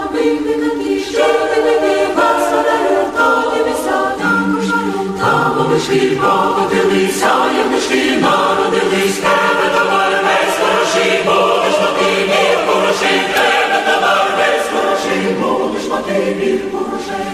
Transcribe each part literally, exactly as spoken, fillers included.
Євнички покотилися, євнички народились, тебе товар весь хороший, будеш мати мір хороший, тебе товар весь хороший, будеш мати мір хороший.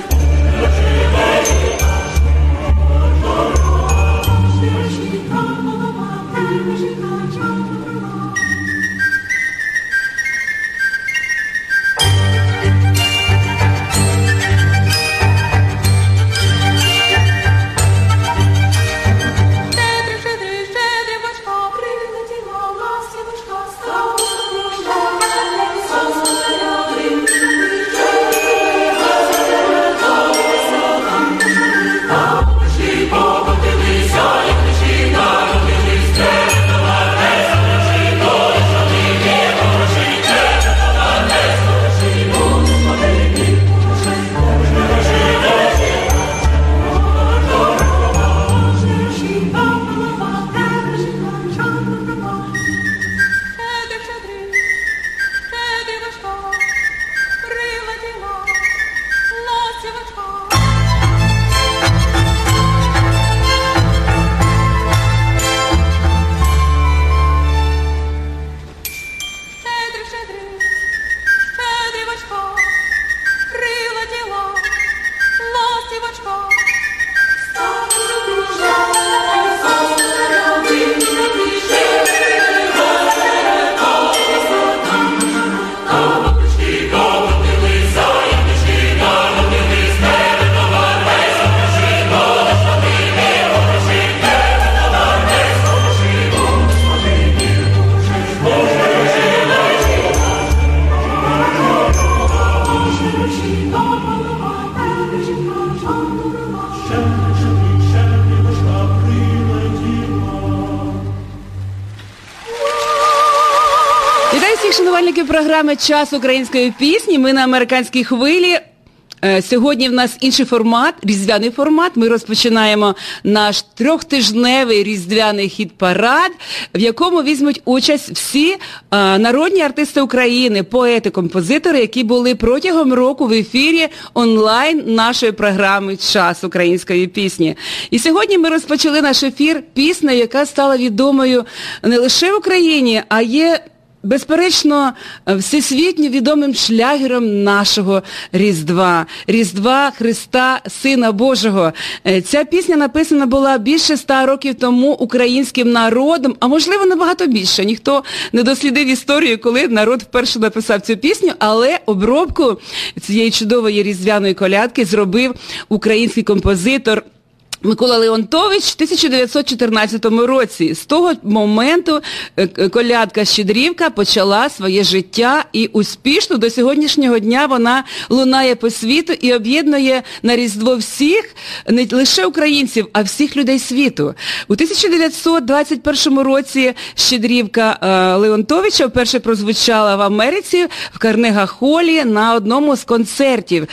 Програми «Час української пісні». Ми на американській хвилі. Сьогодні в нас інший формат, різдвяний формат. Ми розпочинаємо наш трьохтижневий різдвяний хіт-парад, в якому візьмуть участь всі а, народні артисти України, поети, композитори, які були протягом року в ефірі онлайн нашої програми «Час української пісні». І сьогодні ми розпочали наш ефір піснею, яка стала відомою не лише в Україні, а є безперечно, всесвітньо відомим шлягером нашого Різдва. Різдва Христа, Сина Божого. Ця пісня написана була більше ста років тому українським народом, а можливо набагато більше. Ніхто не дослідив історію, коли народ вперше написав цю пісню, але обробку цієї чудової різдвяної колядки зробив український композитор Микола Леонтович в тисяча дев'ятсот чотирнадцятому році. З того моменту колядка «Щедрівка» почала своє життя і успішно до сьогоднішнього дня вона лунає по світу і об'єднує на Різдво всіх, не лише українців, а всіх людей світу. У тисяча дев'ятсот двадцять першому році «Щедрівка» Леонтовича вперше прозвучала в Америці в Карнега-холі на одному з концертів.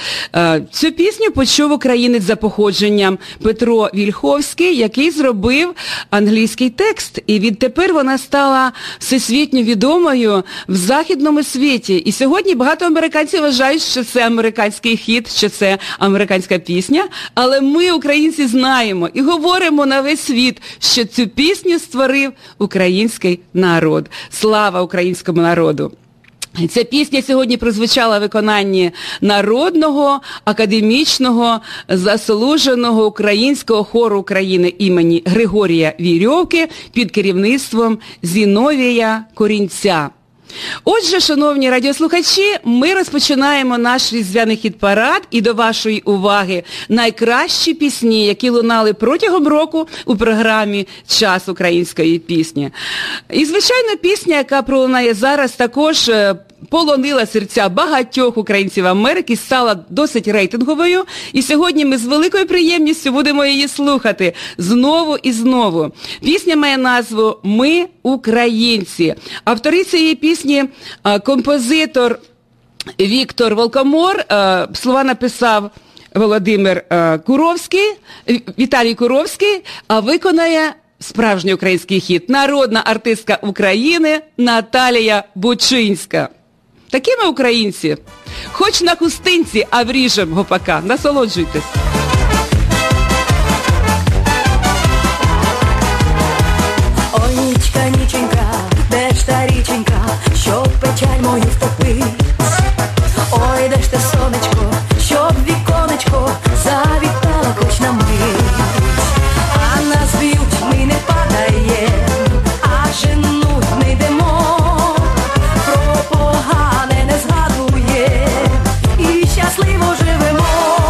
Цю пісню почув українець за походженням Петро Вільховський, який зробив англійський текст. І відтепер вона стала всесвітньо відомою в західному світі. І сьогодні багато американців вважають, що це американський хіт, що це американська пісня. Але ми, українці, знаємо і говоримо на весь світ, що цю пісню створив український народ. Слава українському народу! Ця пісня сьогодні прозвучала в виконанні народного, академічного, заслуженого українського хору України імені Григорія Вірьовки під керівництвом Зіновія Корінця. Отже, шановні радіослухачі, ми розпочинаємо наш різдвяний хіт-парад і до вашої уваги найкращі пісні, які лунали протягом року у програмі «Час української пісні». І, звичайно, пісня, яка пролунає зараз, також полонила серця багатьох українців Америки, стала досить рейтинговою. І сьогодні ми з великою приємністю будемо її слухати знову і знову. Пісня має назву «Ми українці». Автори цієї пісні – композитор Віктор Волкомор, слова написав Володимир Куровський, Віталій Куровський, а виконає справжній український хіт – народна артистка України Наталія Бучинська. Такі ми українці. Хоч на хустинці, а вріжем гопака. Насолоджуйтесь. Ой, нічка, ніченька, де ж та річенька, щоб печаль мою втопить? Ой, де ж те сонечко, щоб віконечко завітало хоч на мить. А нас б'ють, ми не падаєм, а женуть не йдемо, про погане не згадуєм і щасливо живемо.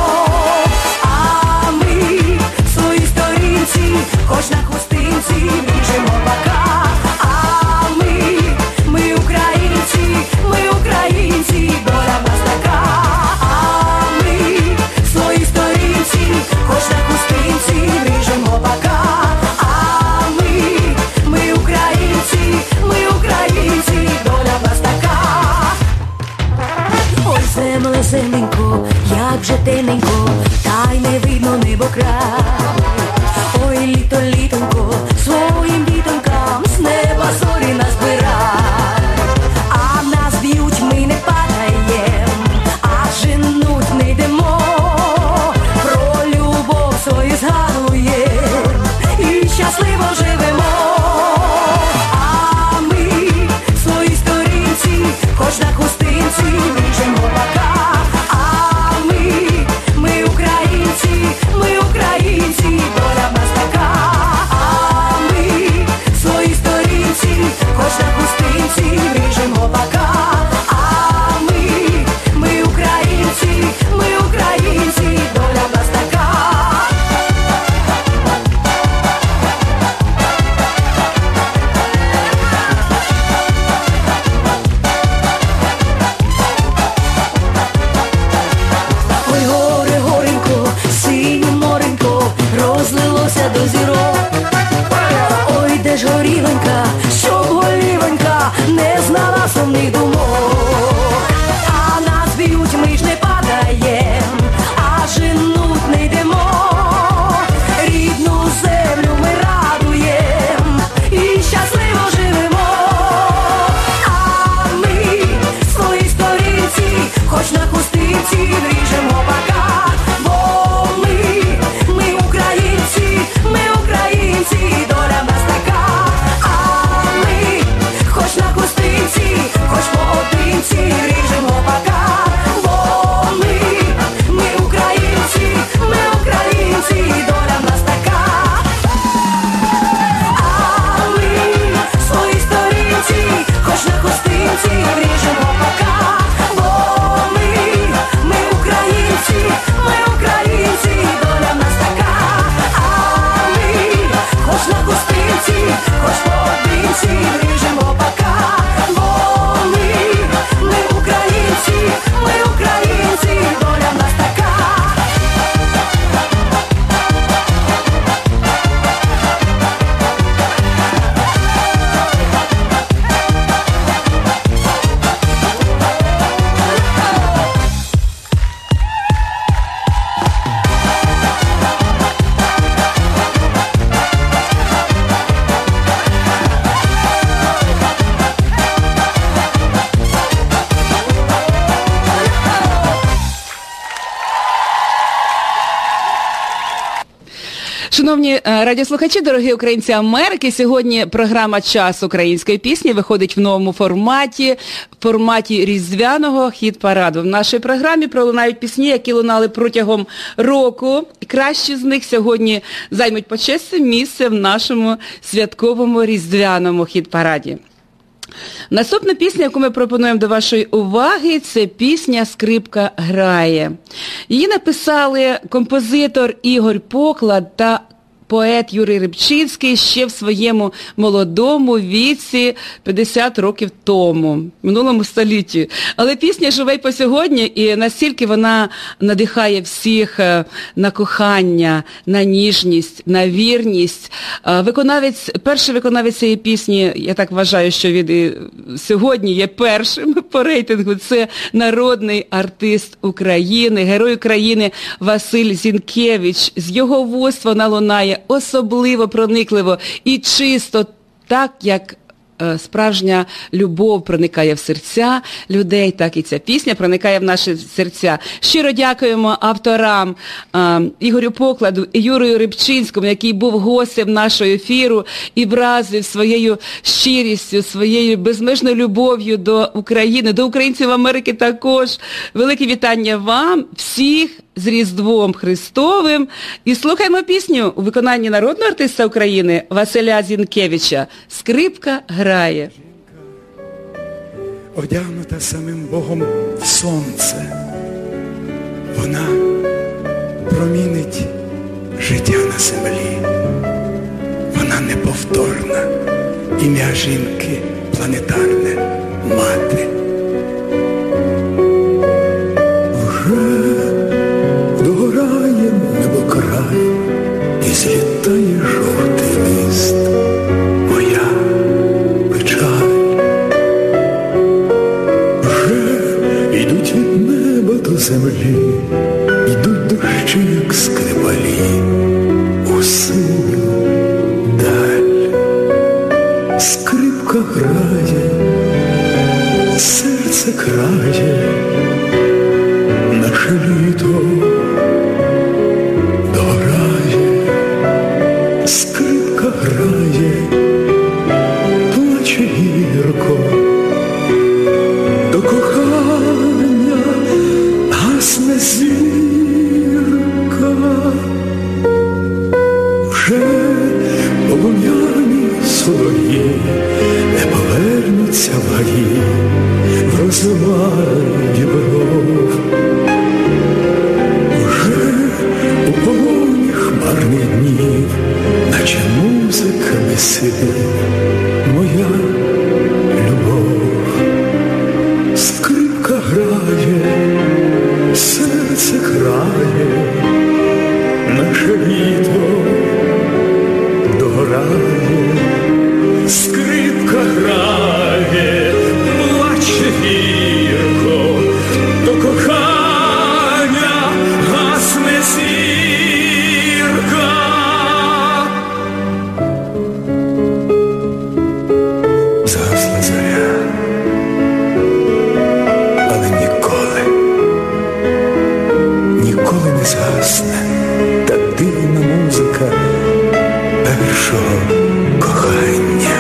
А ми в своїй сторінці, хоч на хустинці, вріжемо бока. А ми, ми українці, ми українці, доля в нас така. А ми в своїй сторінці, хоч на хустинці, вріжемо бока. А ми, ми українці, ми українці, доля в нас така. Ой, земле, земленько, як же темненько, та й не видно небо край. Ой, літо, літонько, своїм дітонькам з неба зорі назбирай. А нас б'ють, ми не падаєм, а женуть не йдемо, про любов свою згадуєм і щасливо живемо. А ми в своїй сторінці, хоч на хустинці, вріжемо бока. А ми, ми українці, ми українці, доля в нас така. А ми в своїй сторінці, хоч на хустинці, вріжемо бока. А ми, ми українці, ми українці, доля в нас така. Ой, горе, горенько, синє моренько, розлилося до зірок. Ой, де ж горілонька, щоб голівонька не знала сумних думок. А нас б'ють, ми ж не падаєм, а женуть не йдемо, рідну землю ми радуєм і щасливо живемо. А ми в своїй сторінці, хоч на хустинці, вріжемо бока. Бо ми, ми українці, ми українці, доля в нас така. А ми, хоч на хустинці, хоч поодинці, вріжемо бока. Бо ми, ми українці, ми українці, доля в нас така. А ми в своїй сторінці, хоч на хустинці, вріжемо бока. Бо ми, ми українці, ми українці, доля в нас така. А ми, хоч на хустинці, хоч поодинці, вріжемо бока. Бо ми, ми українці, ми українці, доля в нас така. Шановні е, радіослухачі, дорогі українці Америки, сьогодні програма «Час української пісні» виходить в новому форматі, в форматі різдвяного хіт-параду. В нашій програмі пролунають пісні, які лунали протягом року. І кращі з них сьогодні займуть почесне місце в нашому святковому різдвяному хіт-параді. Наступна пісня, яку ми пропонуємо до вашої уваги, це пісня «Скрипка грає». Її написали композитор Ігор Поклад та поет Юрій Рибчинський ще в своєму молодому віці п'ятдесят років тому, в минулому столітті. Але пісня живе й по сьогодні, і настільки вона надихає всіх на кохання, на ніжність, на вірність. Виконавець, перший виконавець цієї пісні, я так вважаю, що він сьогодні є першим по рейтингу, це народний артист України, герой України Василь Зінкевич. З його вуст вона лунає особливо проникливо і чисто, так, як е, справжня любов проникає в серця людей, так і ця пісня проникає в наші серця. Щиро дякуємо авторам е, Ігорю Покладу і Юрію Рибчинському, який був гостем нашого ефіру і вразив своєю щирістю, своєю безмежною любов'ю до України, до українців Америки також. Велике вітання вам, всіх з Різдвом Христовим. І слухаємо пісню у виконанні народного артиста України Василя Зінкевича «Скрипка грає». Одягнута самим Богом в сонце, вона промінить життя на землі. Вона неповторна, ім'я жінки планетарне, мати. Вже догорає небокрай і злітає жовтий лист. Моя печаль. Вже йдуть від неба до землі, йдуть дощі, як скрипалі, у синю даль. Скрипка грає, серце крає, наше літо дограє. Скрипка грає, плаче гірко, до кохання гасне зірка. Вже полум'яні солов'ї не повернуться в гаї, в розмаї дібров. Уже у полоні хмарних днів, наче музика веселі, моя любов. Скрипка грає, серце крає, наше літо догорає. Скрипка грає, плаче гірко, до кохання гасне зірка. Згасла зоря, але ніколи, ніколи не згасне та дивна музика першого кохання.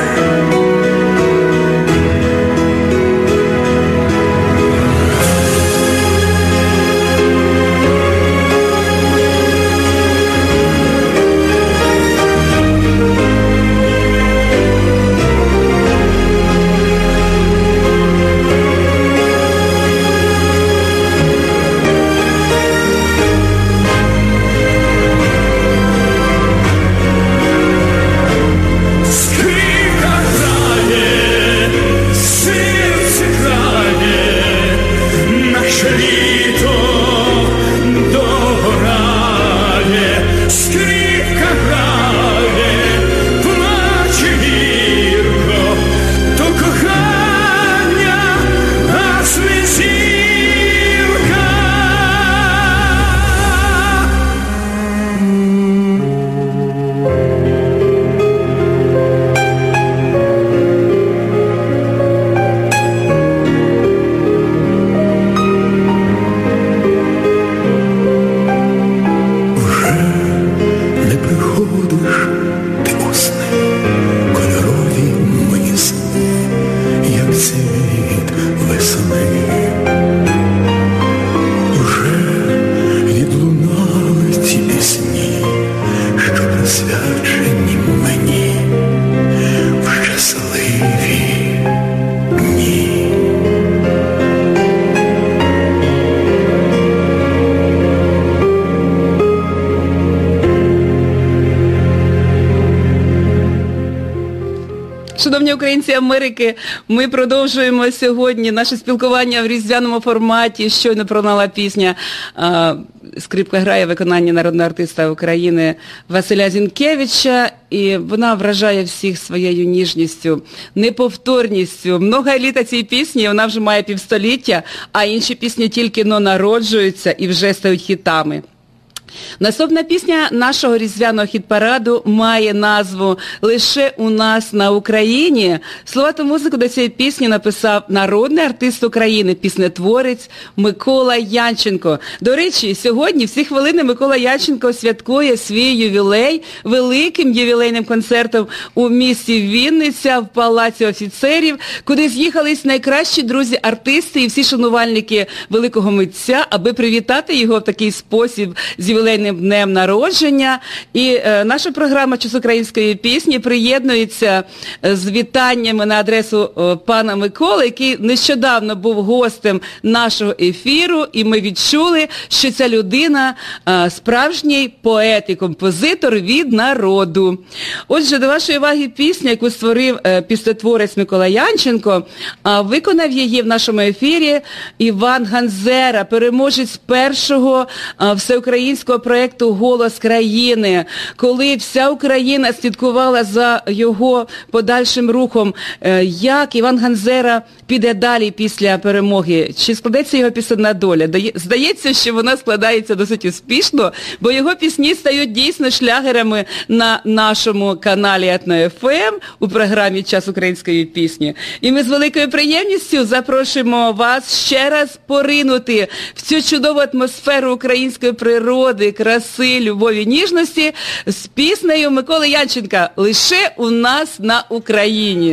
Шановні українці Америки, ми продовжуємо сьогодні наше спілкування в різдвяному форматі. Щойно пролунала пісня «Скрипка грає» виконання народного артиста України Василя Зінкевича. І вона вражає всіх своєю ніжністю, неповторністю. Много літа цій пісні, вона вже має півстоліття, а інші пісні тільки но народжуються і вже стають хітами. Наступна пісня нашого різдвяного хіт-параду має назву «Лише у нас на Україні». Слова та музику до цієї пісні написав народний артист України, піснетворець Микола Янченко. До речі, сьогодні, в ці хвилини, Микола Янченко святкує свій ювілей великим ювілейним концертом у місті Вінниця в Палаці офіцерів, куди з'їхались найкращі друзі-артисти і всі шанувальники великого митця, аби привітати його в такий спосіб з ювілейним днем народження. І е, наша програма «Час української пісні» приєднується з вітаннями на адресу е, пана Миколи, який нещодавно був гостем нашого ефіру, і ми відчули, що ця людина е, справжній поет і композитор від народу. Отже, до вашої уваги пісня, яку створив е, піснетворець Микола Янченко, а виконав її в нашому ефірі Іван Ганзера, переможець першого е, всеукраїнського проєкту «Голос країни», коли вся Україна слідкувала за його подальшим рухом. Як Іван Ганзера піде далі після перемоги? Чи складеться його пісенна доля? Здається, що вона складається досить успішно, бо його пісні стають дійсно шлягерами на нашому каналі Етно еф ем у програмі «Час української пісні». І ми з великою приємністю запрошуємо вас ще раз поринути в цю чудову атмосферу української природи, краси, любові, ніжності з піснею Миколи Янченка «Лише у нас на Україні».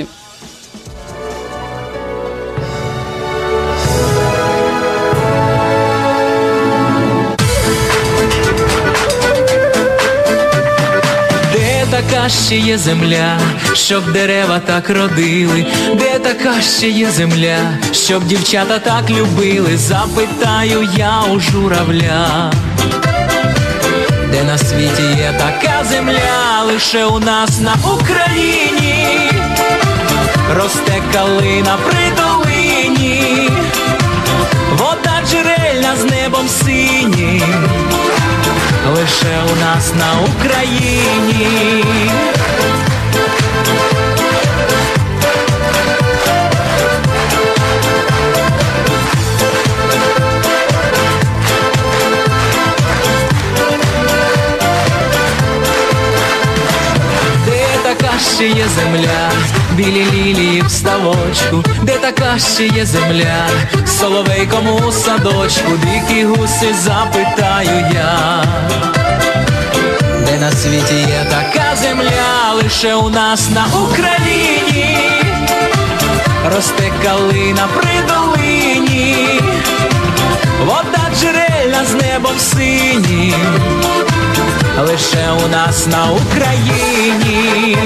Де така ще є земля, щоб дерева так родили? Де така ще є земля, щоб дівчата так любили? Запитаю я у журавля. Де на світі є така земля, лише у нас на Україні росте калина при долині, вода джерельна з небом синім, лише у нас на Україні. Ще є земля, білі лілії в ставочку, де така ще є земля, соловейком у садочку, дикі гуси, запитаю я. Де на світі є така земля, лише у нас на Україні росте калина при долині, вода джерельна з небом синім, лише у нас на Україні.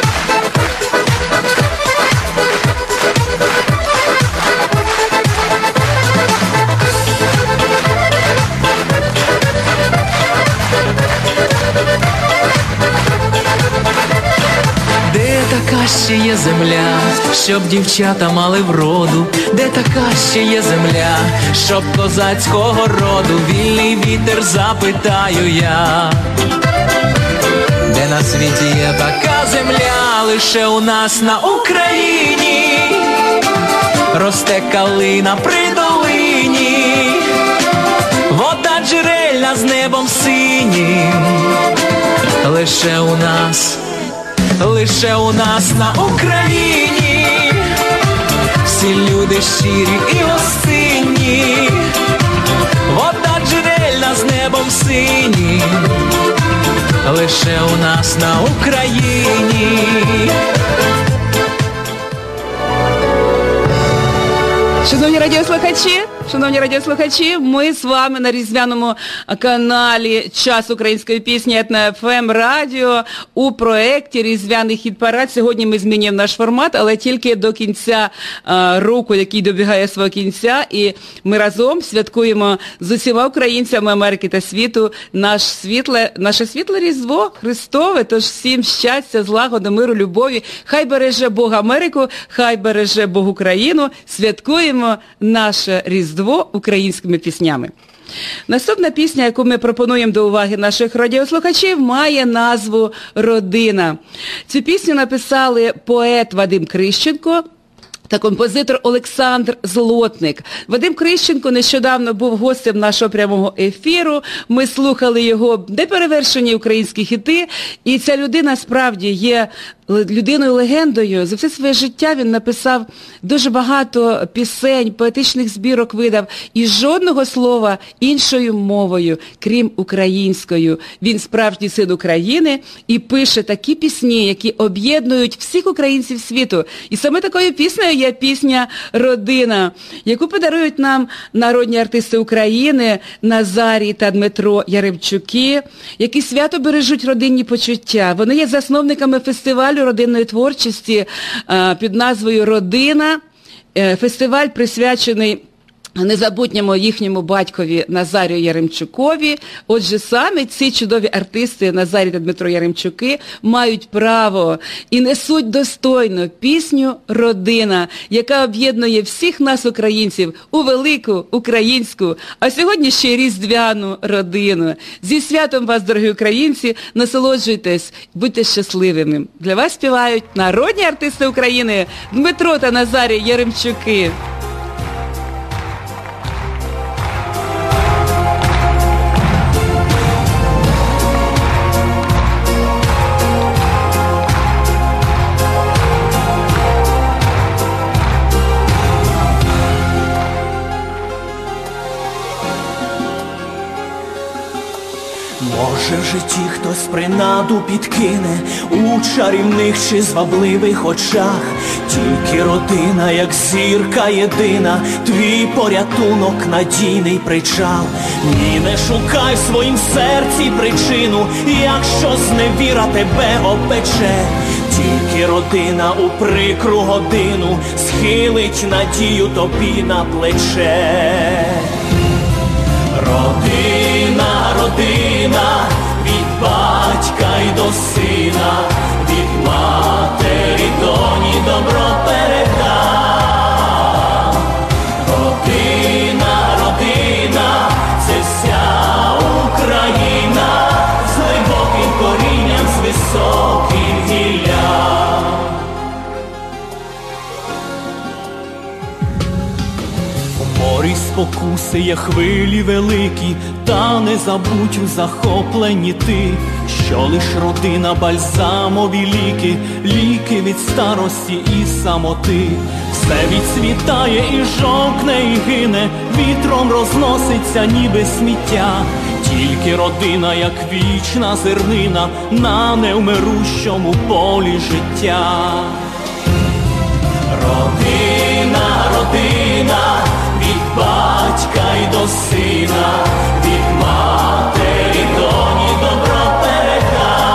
Де така ще є земля, щоб дівчата мали вроду? Де така ще є земля, щоб козацького роду? Вільний вітер, запитаю я. Де на світі є така земля, лише у нас на Україні росте калина при долині, вода джерельна з небом синім, лише у нас, лише у нас на Україні всі люди щирі і гостинні, вода джерельна з небом синім, лише у нас на Україні. Шановні радіослухачі, шановні радіослухачі, ми з вами на різдвяному каналі «Час української пісні» Етно еф ем радіо у проєкті «Різдвяний хіт-парад». Сьогодні ми змінюємо наш формат, але тільки до кінця а, року, який добігає свого кінця, і ми разом святкуємо з усіма українцями Америки та світу наш світле, наше світле Різдво Христове. Тож всім щастя, злагоди, миру, любові. Хай береже Бог Америку, хай береже Бог Україну. Святкуємо наше Різдво українськими піснями. Наступна пісня, яку ми пропонуємо до уваги наших радіослухачів, має назву «Родина». Цю пісню написали поет Вадим Крищенко, та композитор Олександр Злотник. Вадим Крищенко нещодавно був гостем нашого прямого ефіру. Ми слухали його неперевершені українські хіти. І ця людина справді є людиною-легендою. За все своє життя він написав дуже багато пісень, поетичних збірок видав. І жодного слова іншою мовою, крім українською. Він справжній син України і пише такі пісні, які об'єднують всіх українців світу. І саме такою піснею є пісня «Родина», яку подарують нам народні артисти України Назарій та Дмитро Яремчуки, які свято бережуть родинні почуття. Вони є засновниками фестивалю родинної творчості під назвою «Родина». Фестиваль присвячений незабутньому їхньому батькові Назарію Яремчукові. Отже, саме ці чудові артисти Назарій та Дмитро Яремчуки мають право і несуть достойно пісню «Родина», яка об'єднує всіх нас, українців, у велику українську, а сьогодні ще й різдвяну родину. Зі святом вас, дорогі українці, насолоджуйтесь, будьте щасливими. Для вас співають народні артисти України Дмитро та Назарій Яремчуки. Може в житті хтось принаду підкине у чарівних чи звабливих очах. Тільки родина, як зірка єдина, твій порятунок, надійний причал. Ні, не шукай в своїм серці причину, якщо зневіра тебе опече. Тільки родина у прикру годину схилить надію тобі на плече. Родина, родина, від батька й до сина, від матері доні добро передам. Родина, родина, це вся Україна, з глибоким корінням, з високим гіллям. Морі спокуси є хвилі великі, та не забудь у захопленні ти, що лиш родина бальзамові ліки, ліки від старості і самоти. Все відцвітає і жовкне, і гине, вітром розноситься ніби сміття. Тільки родина, як вічна зернина, на невмирущому полі життя. Родина, родина, від батька й до сина, від матері доні добро передам.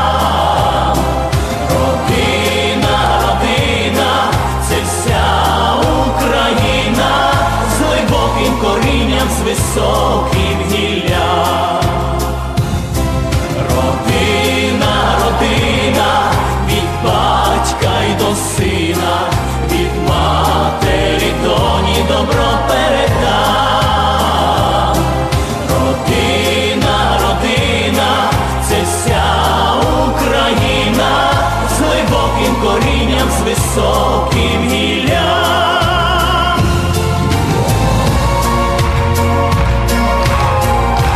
Родина, родина, це вся Україна, з глибоким корінням, з високим гіллям. Родина, родина, від батька й до сина, від матері доні добро передам. Родина, родина, це вся Україна, з глибоким корінням, з високим гіллям.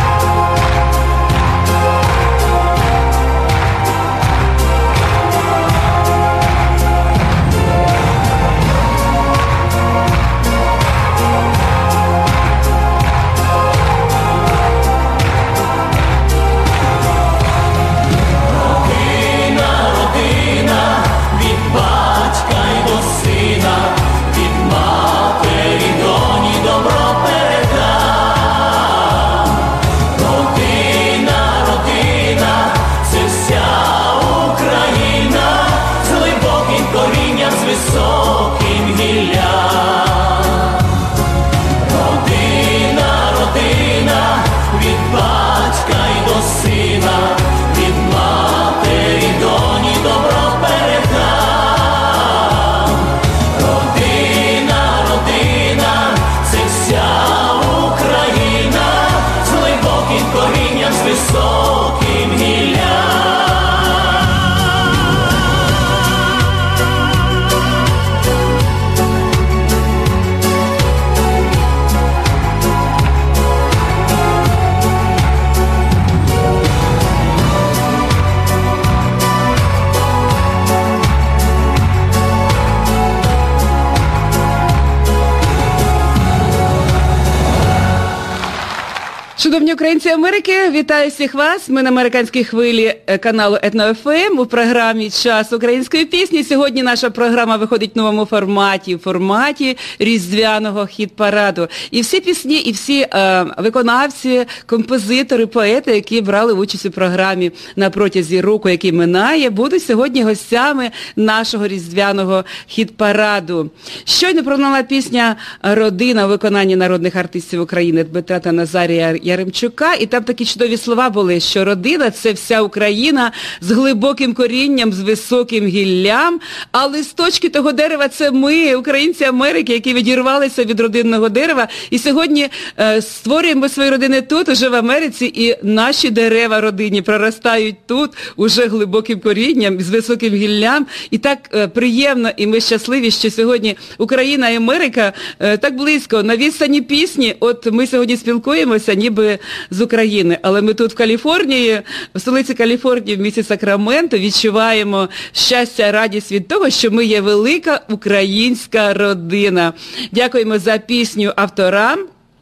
Шановні українці Америки, вітаю всіх вас. Ми на американській хвилі каналу Етно-ФМ у програмі «Час української пісні». Сьогодні наша програма виходить в новому форматі, в форматі різдвяного хіт-параду. І всі пісні, і всі е, виконавці, композитори, поети, які брали участь у програмі на протязі року, який минає, будуть сьогодні гостями нашого різдвяного хіт-параду. Щойно пролунала пісня «Родина» у виконанні народних артистів України Дмитра та Назарія Яремчука, і там такі чудові слова були, що родина – це вся Україна з глибоким корінням, з високим гіллям, а листочки того дерева – це ми, українці Америки, які відірвалися від родинного дерева, і сьогодні е, створюємо свої родини тут, уже в Америці, і наші дерева родинні проростають тут, уже глибоким корінням, з високим гіллям, і так е, приємно, і ми щасливі, що сьогодні Україна і Америка е, так близько, на відстані пісні. От ми сьогодні спілкуємося, ніби з України, але ми тут в Каліфорнії, в столиці Каліфорнії, в місті Сакраменто, відчуваємо щастя, радість від того, що ми є велика українська родина. Дякуємо за пісню авторам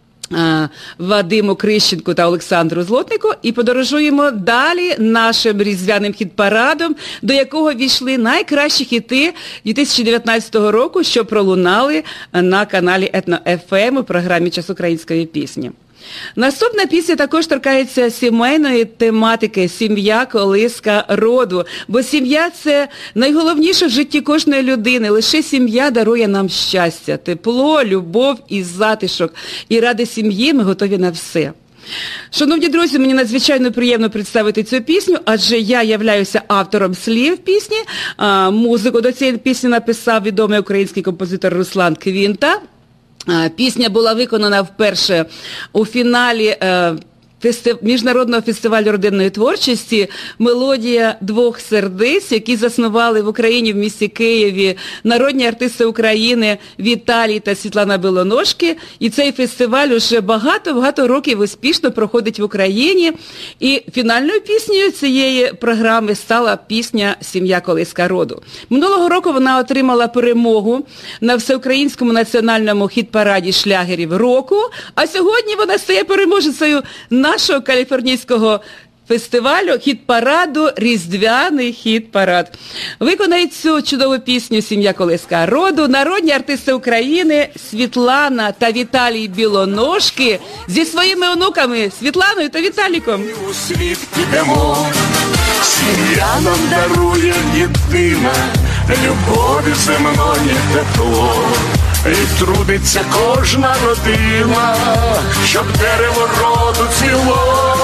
Вадиму Крищенку та Олександру Злотнику, і подорожуємо далі нашим різдвяним хіт-парадом, до якого війшли найкращі хіти дві тисячі дев'ятнадцятого року, що пролунали на каналі Етно-ФМ у програмі «Час української пісні». Наступна пісня також торкається сімейної тематики «Сім'я – колиска роду», бо сім'я – це найголовніше в житті кожної людини. Лише сім'я дарує нам щастя, тепло, любов і затишок. І ради сім'ї ми готові на все. Шановні друзі, мені надзвичайно приємно представити цю пісню, адже я являюся автором слів пісні. Музику до цієї пісні написав відомий український композитор Руслан Квінта. Пісня була виконана вперше у фіналі фестив... Міжнародного фестивалю родинної творчості «Мелодія двох сердець», які заснували в Україні, в місті Києві, народні артисти України Віталій та Світлана Білоножки. І цей фестиваль уже багато-багато років успішно проходить в Україні. І фінальною піснею цієї програми стала пісня «Сім'я – колиска роду». Минулого року вона отримала перемогу на всеукраїнському національному хіт-параді шлягерів року, а сьогодні вона стає переможецею на нашого каліфорнійського фестивалю хіт-параду «Різдвяний хіт-парад». Виконають цю чудову пісню «Сім'я – колиска роду» народні артисти України Світлана та Віталій Білоножки зі своїми онуками Світланою та Віталіком. У світ ідемо, сім'я нам дарує єдина, любові земної тепло. І трудиться кожна родина, щоб дерево роду цвіло.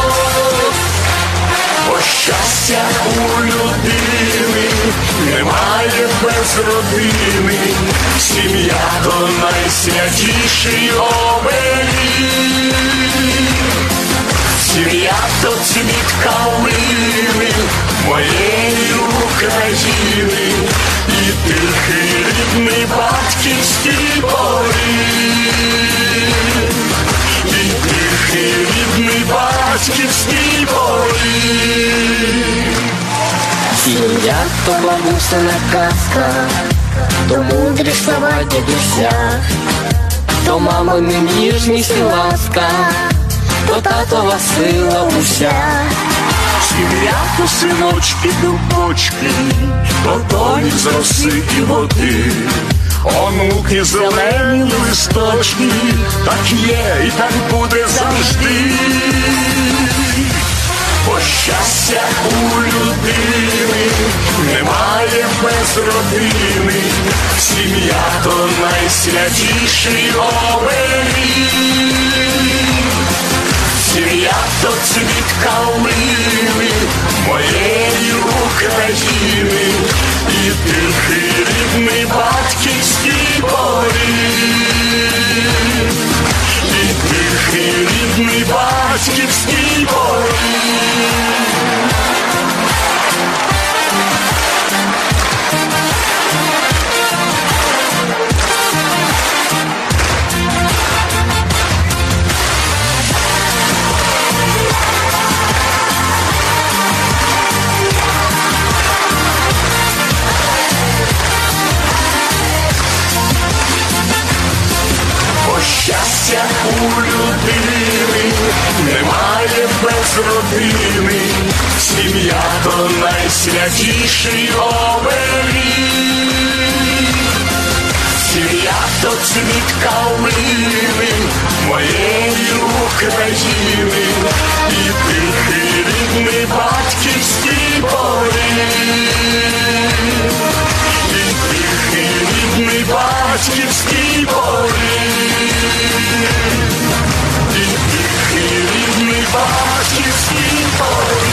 Бо щастя у людини немає без родини, сім'я то найсвятіший оберіг. Сім'я то цвіт калини моєї України, і тихий рідний батьківський поріг, і тихий рідний батьківський поріг. Сім'я то бабусина казка, то мудрі слова дідуся, то мамини ніжність і ласка, то татова сила уся. Сім'я то синочки, дубочки, то доні з роси і води, онуки зелені листочки, так є і так буде завжди. Бо щастя у людини немає без родини, сім'я то найсвятіший оберіг. Сім'я то цвіт калини моєї України, і тихий рідний батьківський поріг, і тихий рідний батьківський поріг. Щастя у людини немає без родини, сім'я то найсвятіший оберіг. Сім'я то цвіт калини моєї України, і тихий рідний батьківський поріг, і тихий рідний батьківський поріг, і тихий рідний батьківський поріг.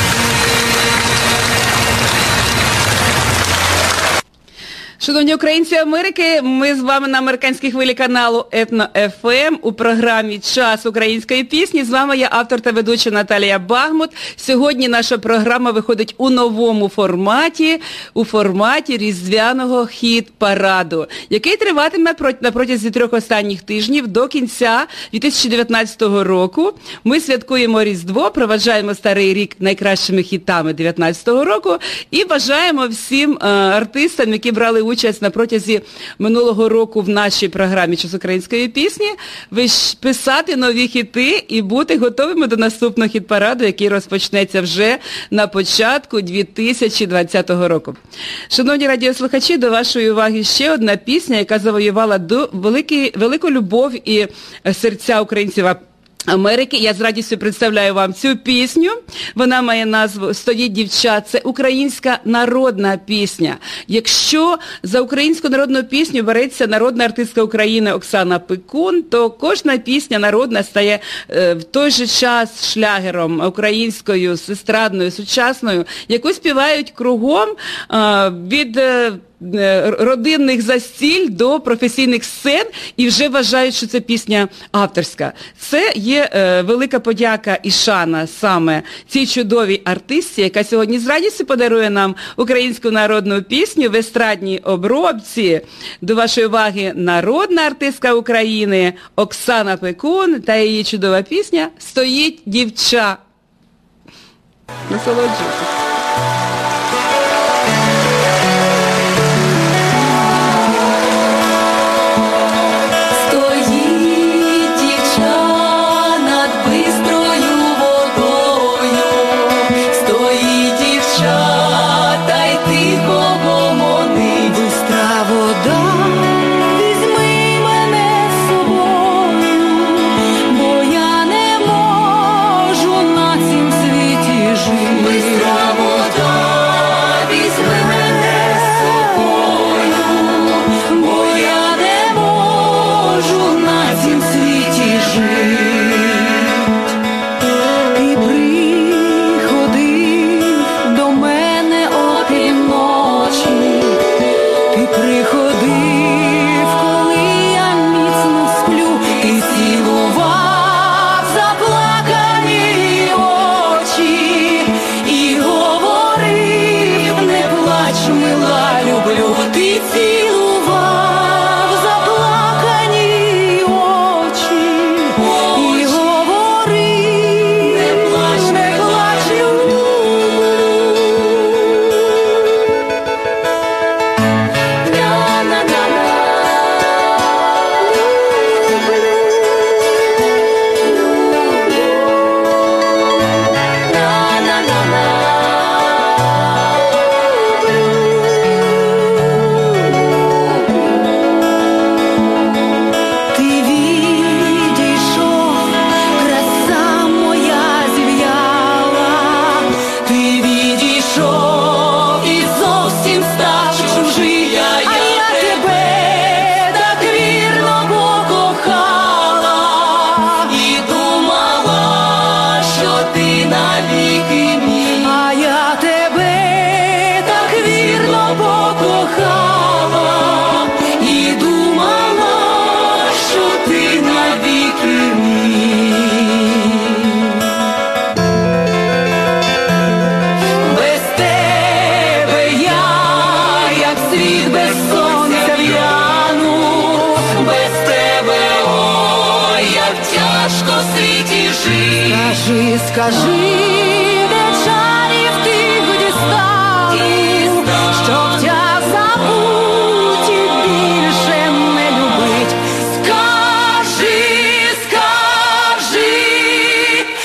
Шановні українці Америки, ми з вами на американській хвилі каналу Етно еф ем у програмі «Час української пісні». З вами я, автор та ведуча Наталія Багмут. Сьогодні наша програма виходить у новому форматі, у форматі різдвяного хіт-параду, який триватиме на протязі трьох останніх тижнів до кінця дві тисячі дев'ятнадцятого року. Ми святкуємо Різдво, проваджаємо Старий рік найкращими хітами дев'ятнадцятого року і бажаємо всім е, артистам, які брали участь на протязі минулого року в нашій програмі «Час української пісні», писати нові хіти і бути готовими до наступного хіт-параду, який розпочнеться вже на початку дві тисячі двадцятого року. Шановні радіослухачі, до вашої уваги ще одна пісня, яка завоювала великі, велику любов і серця українців Америки. Я з радістю представляю вам цю пісню. Вона має назву «Стоїть дівча». Це українська народна пісня. Якщо за українську народну пісню береться народна артистка України Оксана Пекун, то кожна пісня народна стає е, в той же час шлягером українською, естрадною, сучасною, яку співають кругом е, від е, родинних застіль до професійних сцен і вже вважають, що це пісня авторська. Це є е, велика подяка і шана саме цій чудовій артистці, яка сьогодні з радістю подарує нам українську народну пісню в естрадній обробці. До вашої уваги народна артистка України Оксана Пекун та її чудова пісня «Стоїть дівча». Насолоджуйтесь. Скажи, скажи, де чарів тих дістану, щоб тя забуть і більше не любить. Скажи, скажи,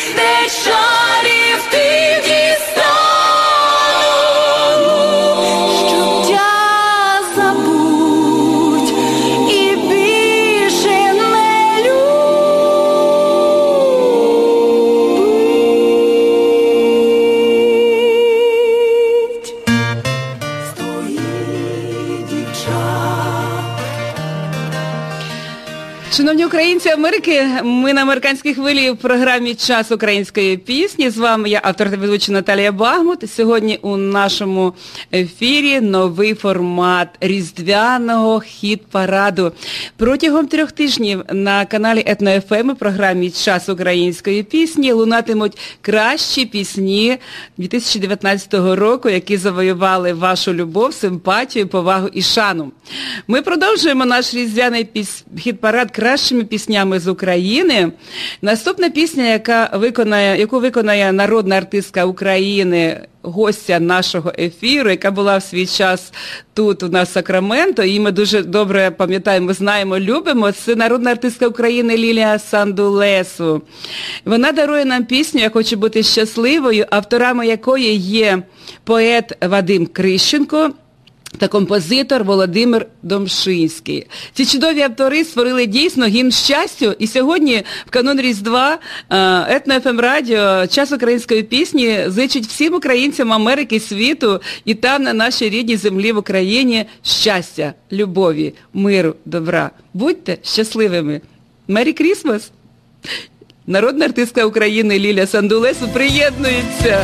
українці Америки. Ми на американській хвилі в програмі «Час української пісні». З вами я, автор та ведуча Наталія Багмут. Сьогодні у нашому ефірі новий формат різдвяного хіт-параду. Протягом трьох тижнів на каналі Етно-еф ем у програмі «Час української пісні» лунатимуть кращі пісні дві тисячі дев'ятнадцятого року, які завоювали вашу любов, симпатію, повагу і шану. Ми продовжуємо наш різдвяний піс... хіт-парад кращими піснями з України. Наступна пісня, яка виконає, яку виконає народна артистка України, гостя нашого ефіру, яка була в свій час тут у нас в Сакраменто, і ми дуже добре пам'ятаємо, знаємо, любимо, це народна артистка України Лілія Сандулесу. Вона дарує нам пісню «Я хочу бути щасливою», авторами якої є поет Вадим Крищенко та композитор Володимир Домшинський. Ці чудові автори створили дійсно гімн щастю, і сьогодні в канун Різдва Етно-еф ем радіо «Час української пісні» зичить всім українцям Америки, світу і там на нашій рідній землі в Україні щастя, любові, миру, добра. Будьте щасливими. Мері Крісмас! Народна артистка України Лілія Сандулесу приєднується.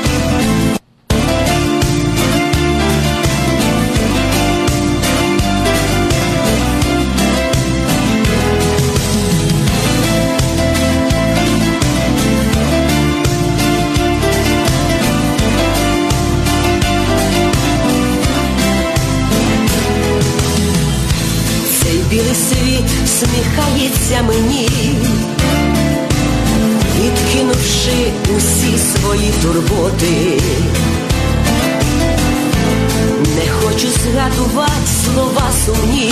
Білий світ сміхається мені, відкинувши усі свої турботи. Не хочу згадувати слова сумні,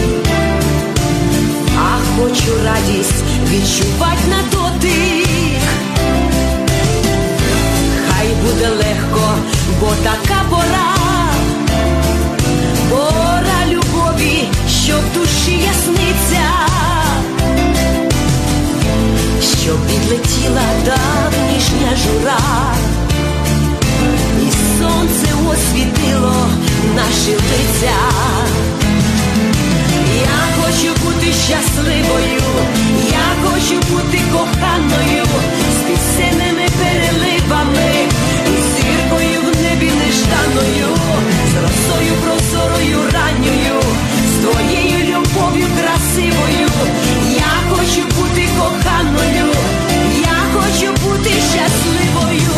а хочу радість відчувати на дотик. Хай буде легко, бо така пора, пора любові, що в душі ясниця, що підлетіла давнішня жура, і сонце освітило наші лиця. Я хочу бути щасливою, я хочу бути коханою, з пісенними переливами, і зіркою в небі нежданою, з росою прозорою ранньою, з твоєю любов'ю красивою. Я хочу бути коханою, я хочу бути щасливою.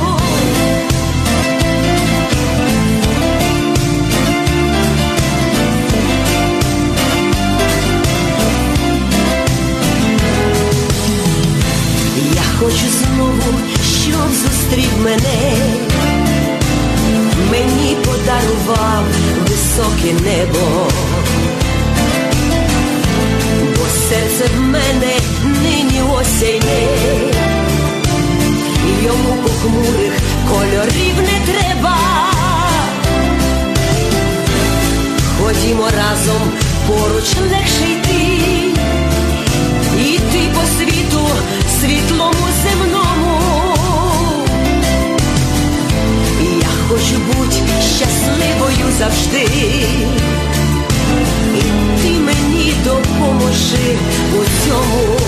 Я хочу знову, щоб зустрів мене, мені подарував високе небо, бо серце в мене нині осяйне, йому похмурих кольорів не треба. Ходімо разом, поруч легше йти, йти по світу світлому земному. Я хочу бути щасливою завжди, і ти мені допоможи у цьому.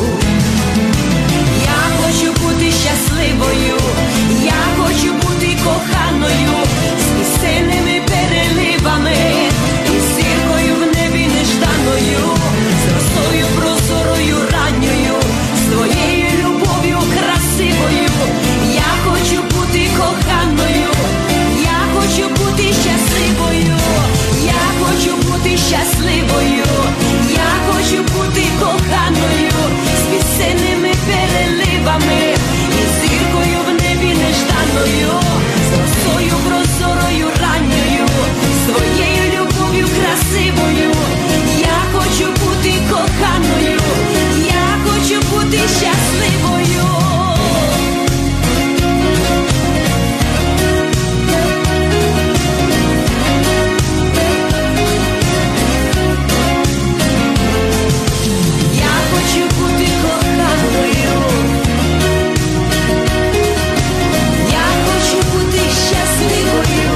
Я хочу бути щасливою, я хочу бути коханою, з пісенними переливами, і зіркою в небі нежданою, з росою прозорою ранньою, з твоєю любов'ю красивою. Я хочу бути коханою, я хочу бути щасливою, я хочу бути щасливою, я хочу бути коханою, з пісенними переливами, і зіркою в небі нежданою, з росою прозорою ранньою, з твоєю любов'ю красивою. Я хочу бути коханою, я хочу бути щасливою. Я хочу бути коханою, я хочу бути щасливою.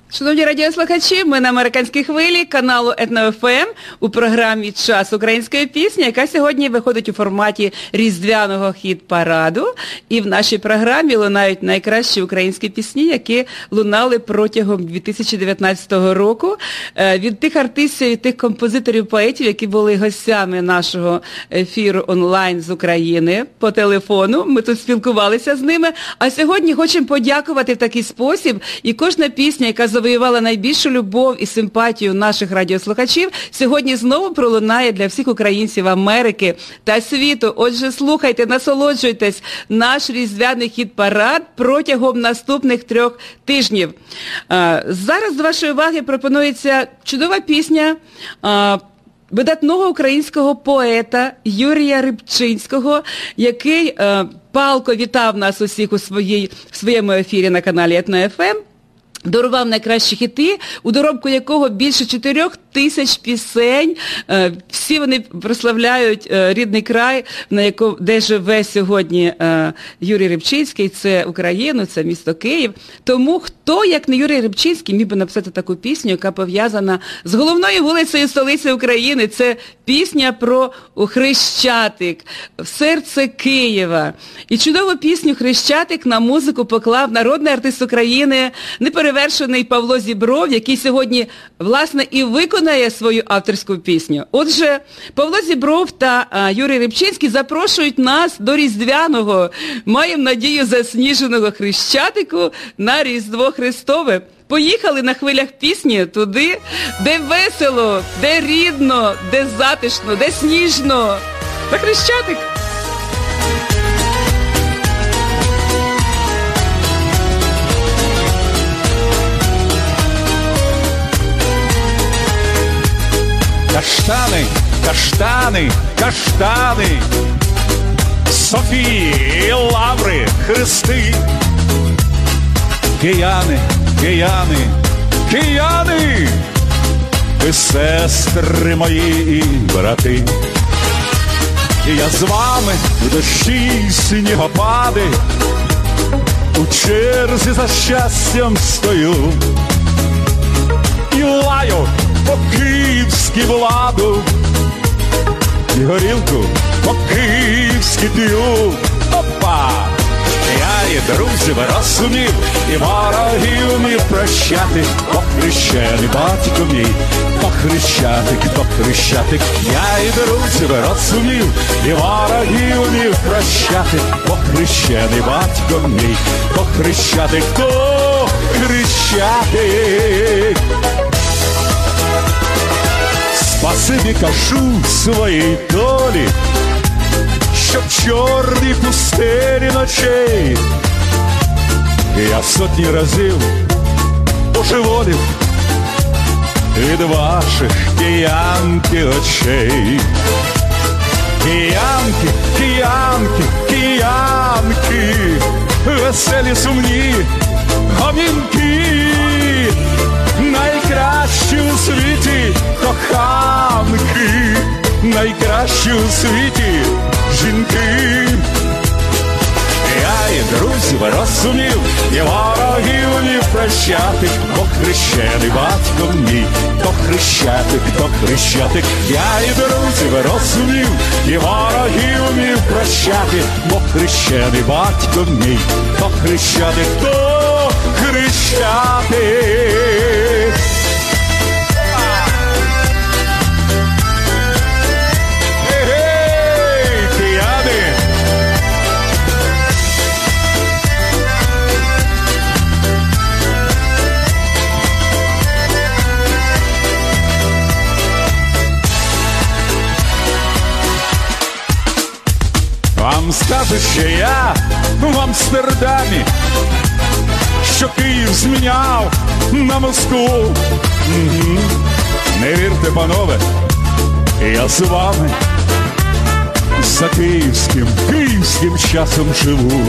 Шановні радіослухачі, ми на американській хвилі каналу Етно-ФМ у програмі «Час української пісні», яка сьогодні виходить у форматі різдвяного хіт-параду. І в нашій програмі лунають найкращі українські пісні, які лунали протягом дві тисячі дев'ятнадцятого року. Від тих артистів і тих композиторів-поетів, які були гостями нашого ефіру онлайн з України по телефону. Ми тут спілкувалися з ними. А сьогодні хочемо подякувати в такий спосіб. І кожна пісня, яка завоювала найбільшу любов і симпатію наших радіослухачів, сьогодні знову пролунає для всіх українців Америки та світу. Отже, слухайте, насолоджуйтесь наш різдвяний хіт-парад протягом наступних трьох тижнів. Зараз до вашої уваги пропонується чудова пісня видатного українського поета Юрія Рибчинського, який палко вітав нас усіх у своїй, в своєму ефірі на каналі Етно-ФМ. Дарував найкращі хіти, у доробку якого більше чотирьох тисяч пісень. Всі вони прославляють рідний край, на якому, де живе сьогодні Юрій Рибчинський. Це Україну, це місто Київ. Тому хто, як не Юрій Рибчинський, міг би написати таку пісню, яка пов'язана з головною вулицею столиці України. Це пісня про Хрещатик, серце Києва. І чудову пісню «Хрещатик» на музику поклав народний артист України, неперевершений Павло Зібров, який сьогодні, власне, і виконає свою авторську пісню. Отже, Павло Зібров та а, Юрій Рибчинський запрошують нас до Різдвяного, маємо надію, засніженого Хрещатику на Різдво Христове. Поїхали на хвилях пісні туди, де весело, де рідно, де затишно, де сніжно. На Хрещатик! Каштани, каштани, каштани, Софії, лаври, хрести. Кияни, кияни, кияни, ви сестри мої і брати. І я з вами в дощі снігопади, у черзі за щастям стою. І лаю по-київськи владу, і горілку по-київськи п'ю. Опа! Я і друзів розумів, і ворогів міг прощати, похрещений батько мій, похрещатик, похрещатик. Я і друзів розумів, і ворогів міг прощати, похрещений батько мій, похрещатик, то хрещатик. Спасибі кажу своїй долі, що в чорній пустелі ночей я сотні разів божеволів від ваших киянки очей. Киянки, киянки, киянки, веселі сумні гомінки, найкращі у світі коханки, найкращі у світі жінки. Я і друзів розумів, і ворогів не прощати, бо хрещений батько мій, то хрещатик, то хрещатик. Я і друзів розумів, і ворогів не прощати, бо хрещений батько мій, то хрещатик, то хрещатик. Вам скажуть, що я в Амстердамі, що Київ зміняв на Москву. Угу. Не вірте, панове, я з вами за київським, київським часом живу.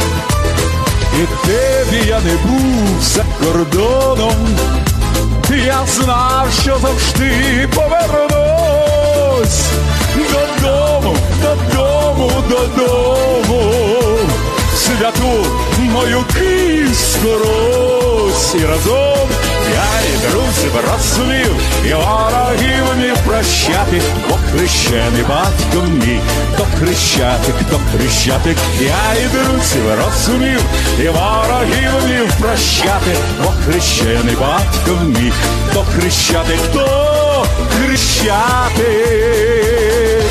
І де б я не був за кордоном, я знав, що завжди повернусь додому, додому, додому, святу мою Київську Русь. І разом друзів розумів, і ворогів вмів прощати, бо хрещений батько мій, то хрещатик, то хрещатик, я і друзів розумів, і ворогів вмів прощати, бо хрещений батько мій, то хрещатик, то хрещатик.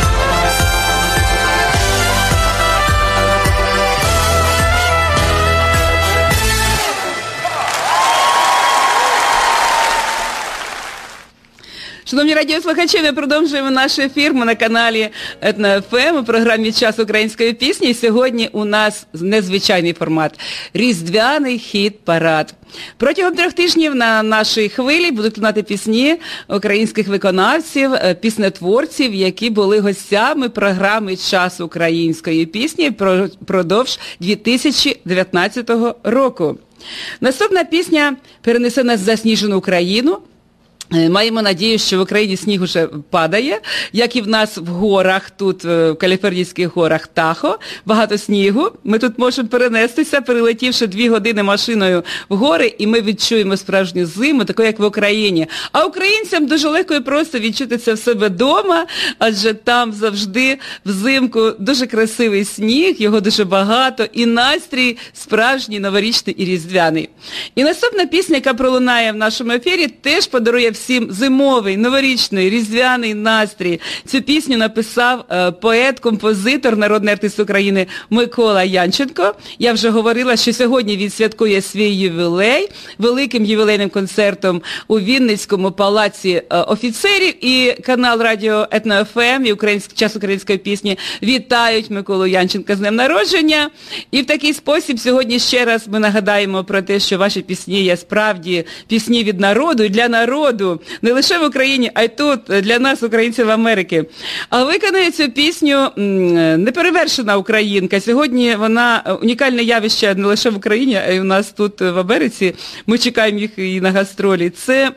Шановні радіослухачі, ми продовжуємо наш ефір. Ми на каналі Етно еф ем у програмі «Час української пісні». І сьогодні у нас незвичайний формат – різдвяний хіт-парад. Протягом трьох тижнів на нашій хвилі будуть лунати пісні українських виконавців, піснетворців, які були гостями програми «Час української пісні» впродовж дві тисячі дев'ятнадцятого року. Наступна пісня перенесе нас в засніжену Україну. Маємо надію, що в Україні сніг уже падає, як і в нас в горах, тут в каліфорнійських горах Тахо, багато снігу. Ми тут можемо перенестися, перелетівши дві години машиною в гори, і ми відчуємо справжню зиму, таку як в Україні. А українцям дуже легко і просто відчути це в себе вдома, адже там завжди взимку дуже красивий сніг, його дуже багато, і настрій справжній, новорічний і різдвяний. І наступна пісня, яка пролунає в нашому ефірі, теж подарує всім зимовий, новорічний, різдвяний настрій. Цю пісню написав е, поет, композитор, народний артист України Микола Янченко. Я вже говорила, що сьогодні він святкує свій ювілей великим ювілейним концертом у Вінницькому палаці е, офіцерів. І канал радіо Етно еф ем і Український час української пісні вітають Миколу Янченка з днем народження. І в такий спосіб сьогодні ще раз ми нагадаємо про те, що ваші пісні є справді пісні від народу і для народу. Не лише в Україні, а й тут, для нас, українців Америки. А виконує цю пісню неперевершена українка. Сьогодні вона унікальне явище не лише в Україні, а й у нас тут в Америці. Ми чекаємо їх і на гастролі. Це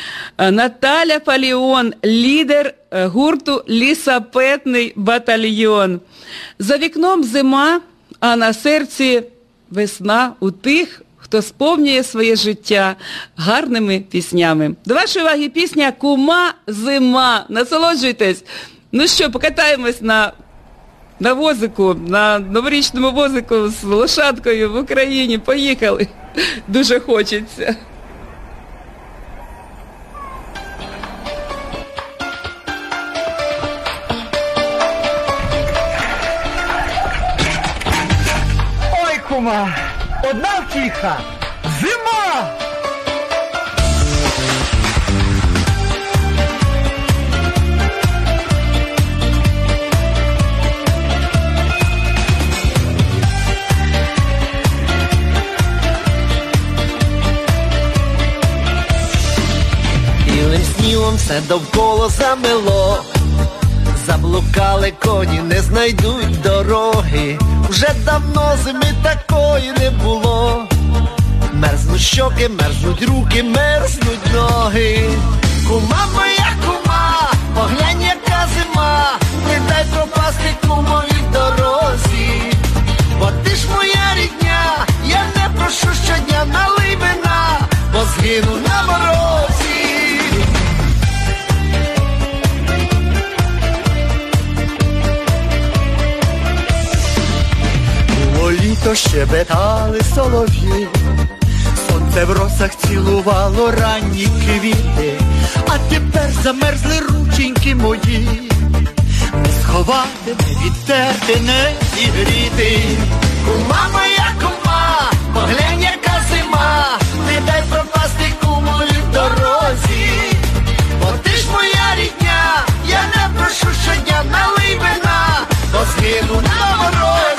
Наталя Фаліон, лідер гурту «Лісапетний батальйон». За вікном зима, а на серці весна у тих, хто сповнює своє життя гарними піснями. До вашої уваги пісня «Кума зима». Насолоджуйтесь. Ну що, покатаємось на, на возику, на новорічному возику з лошадкою в Україні. Поїхали. Дуже хочеться. Ой, кума! Одна втіха – зима! Білим снігом все довкола замело, заблукали коні, не знайдуть дороги. Вже давно зими такої не було. Мерзнуть щоки, мерзнуть руки, мерзнуть ноги. Кума моя, кума, поглянь, яка зима, не дай пропасти кумові в дорозі. Бо ти ж моя рідня, я не прошу щодня, налий вина, бо згину на морозі. Літо щебетали солов'ї, сонце в росах цілувало ранні квіти, а тепер замерзли рученьки мої, не сховати, не відтерти, не зігріти. Кума моя, кума, поглянь, яка зима, не дай пропасти кумові в дорозі. Бо ти ж моя рідня, я не прошу щодня, налий вина, бо згину на морозі.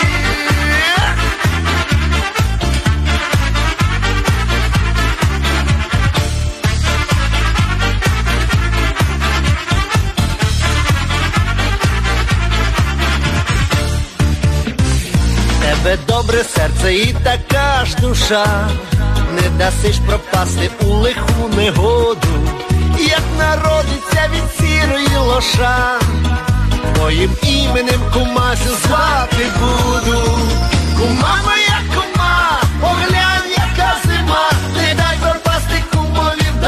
Тебе добре серце і така ж душа, не дасиш пропасти у лиху негоду, як народиться від сірої лоша. Твоїм іменем кумасю звати буду. Кума моя, кума, поглянь, яка зима, не дай пропасти кумові в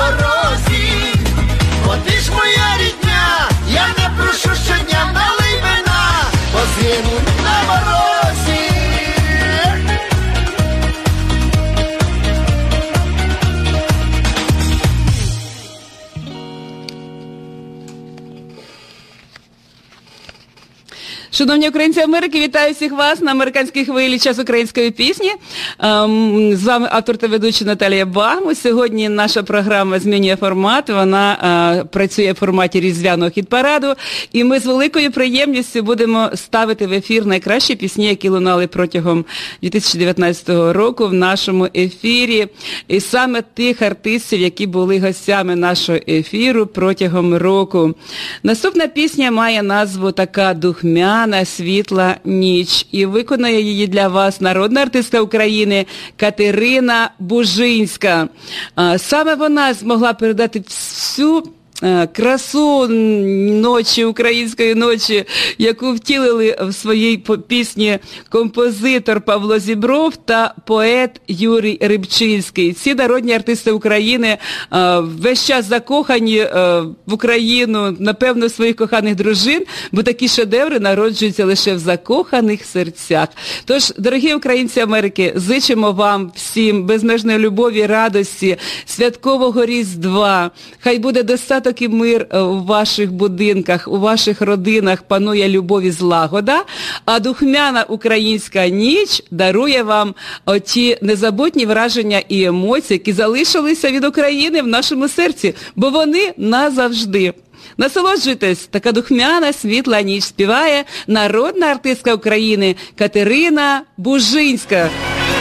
Шановні українці Америки, вітаю всіх вас на американській хвилі «Час української пісні». Ем, з вами автор та ведуча Наталія Багму. Сьогодні наша програма змінює формат, вона е, працює в форматі різдвяного хіт-параду, і ми з великою приємністю будемо ставити в ефір найкращі пісні, які лунали протягом дві тисячі дев'ятнадцятого року в нашому ефірі. І саме тих артистів, які були гостями нашого ефіру протягом року. Наступна пісня має назву така «Духмяна світла ніч». І виконає її для вас народна артистка України Катерина Бужинська. Саме вона змогла передати всю красу ночі, української ночі, яку втілили в своїй пісні композитор Павло Зібров та поет Юрій Рибчинський. Ці народні артисти України весь час закохані в Україну, напевно, в своїх коханих дружин, бо такі шедеври народжуються лише в закоханих серцях. Тож, дорогі українці Америки, зичимо вам всім безмежної любові, радості, святкового Різдва. Хай буде достаток і мир у ваших будинках, у ваших родинах, панує любов і злагода, а духмяна українська ніч дарує вам оті незабутні враження і емоції, які залишилися від України в нашому серці, бо вони назавжди. Насолоджуйтесь, така духмяна світла ніч співає народна артистка України Катерина Бужинська.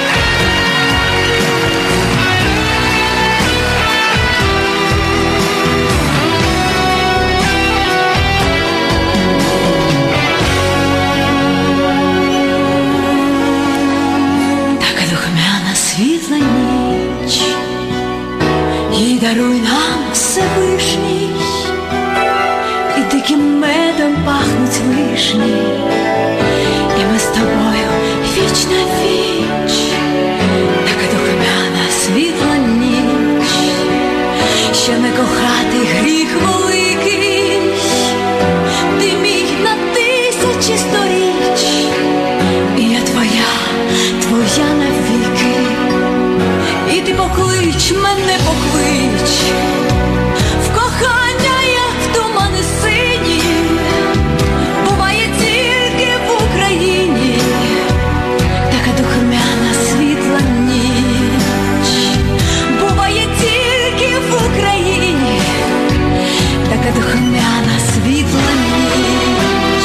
Світла ніч, їй даруй нам Всевишній, і диким медом пахнуть вишні, і ми з тобою віч на віч. Така духмяна світла ніч, що не кохати гріх великий, ти мій на тисячі сторіч, і я твоя, твоя навіки. І ти поклич, мене поклич, в кохання, як в тумани сині, буває тільки в Україні, така духмяна світла ніч, буває тільки в Україні, така духмяна світла ніч.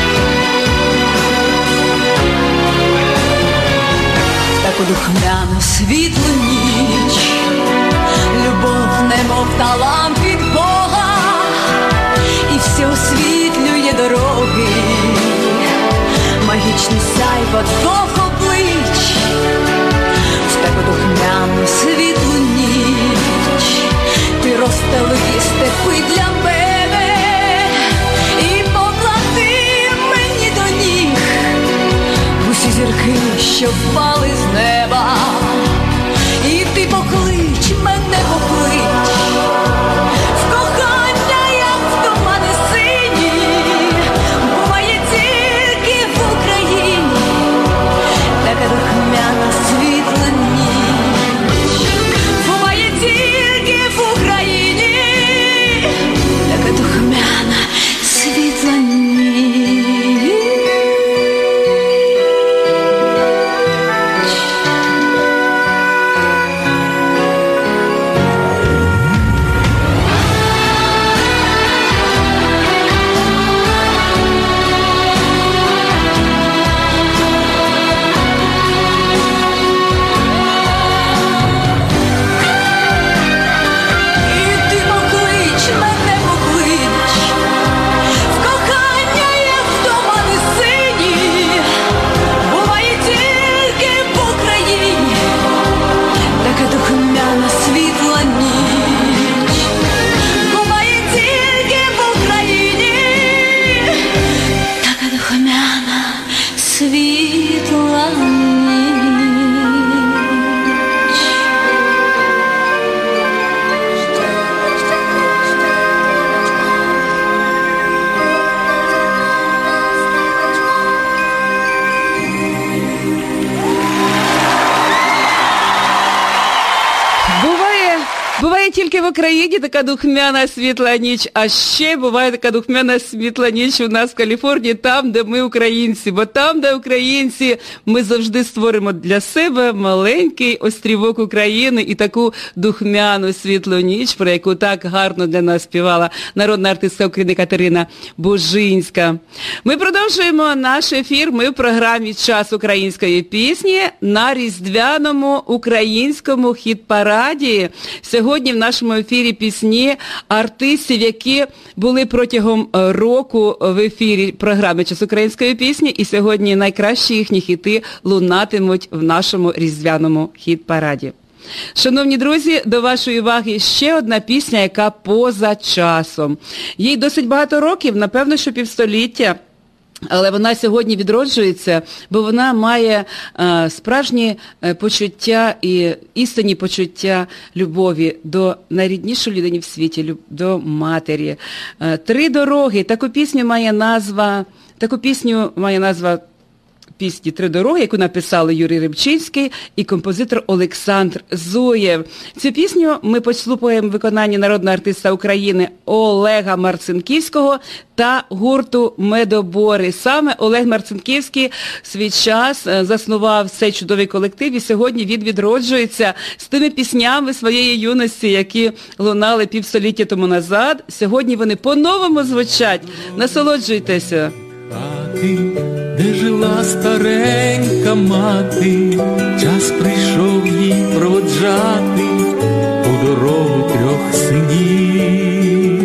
Таку духмяну світлу ніч, любов немов талант від Бога, і все освітлює дороги, магічний сяйво двох облич. В таку духмяну світлу ніч ти розстели степи для мене і поклади мені до ніг усі зірки, що впали з неба. І ти поклич, мене поклич, буває тільки в Україні така духмяна світла ніч, а ще буває така духмяна світла ніч у нас в Каліфорнії, там, де ми українці. Бо там, де українці, ми завжди створимо для себе маленький острівок України і таку духмяну світлу ніч, про яку так гарно для нас співала народна артистка України Катерина Бужинська. Ми продовжуємо наш ефір. Ми в програмі «Час української пісні» на різдвяному українському хіт-параді. Сьогодні в нашому ефірі пісні артистів, які були протягом року в ефірі програми «Час української пісні», і сьогодні найкращі їхні хіти лунатимуть в нашому різдвяному хіт-параді. Шановні друзі, до вашої уваги ще одна пісня, яка поза часом. Їй досить багато років, напевно, що півстоліття. Але вона сьогодні відроджується, бо вона має е, справжні е, почуття і істинні почуття любові до найріднішої людини в світі, люб, до матері. Е, «Три дороги». Таку пісню має назва, таку пісню має назва пісні «Три дороги», яку написали Юрій Рибчинський і композитор Олександр Зуєв. Цю пісню ми послухаємо в виконанні народного артиста України Олега Марцинківського та гурту «Медобори». Саме Олег Марцинківський в свій час заснував цей чудовий колектив, і сьогодні він відроджується з тими піснями своєї юності, які лунали півстоліття тому назад. Сьогодні вони по-новому звучать. Насолоджуйтеся. Де жила старенька мати, час прийшов їй проводжати у дорогу трьох синів.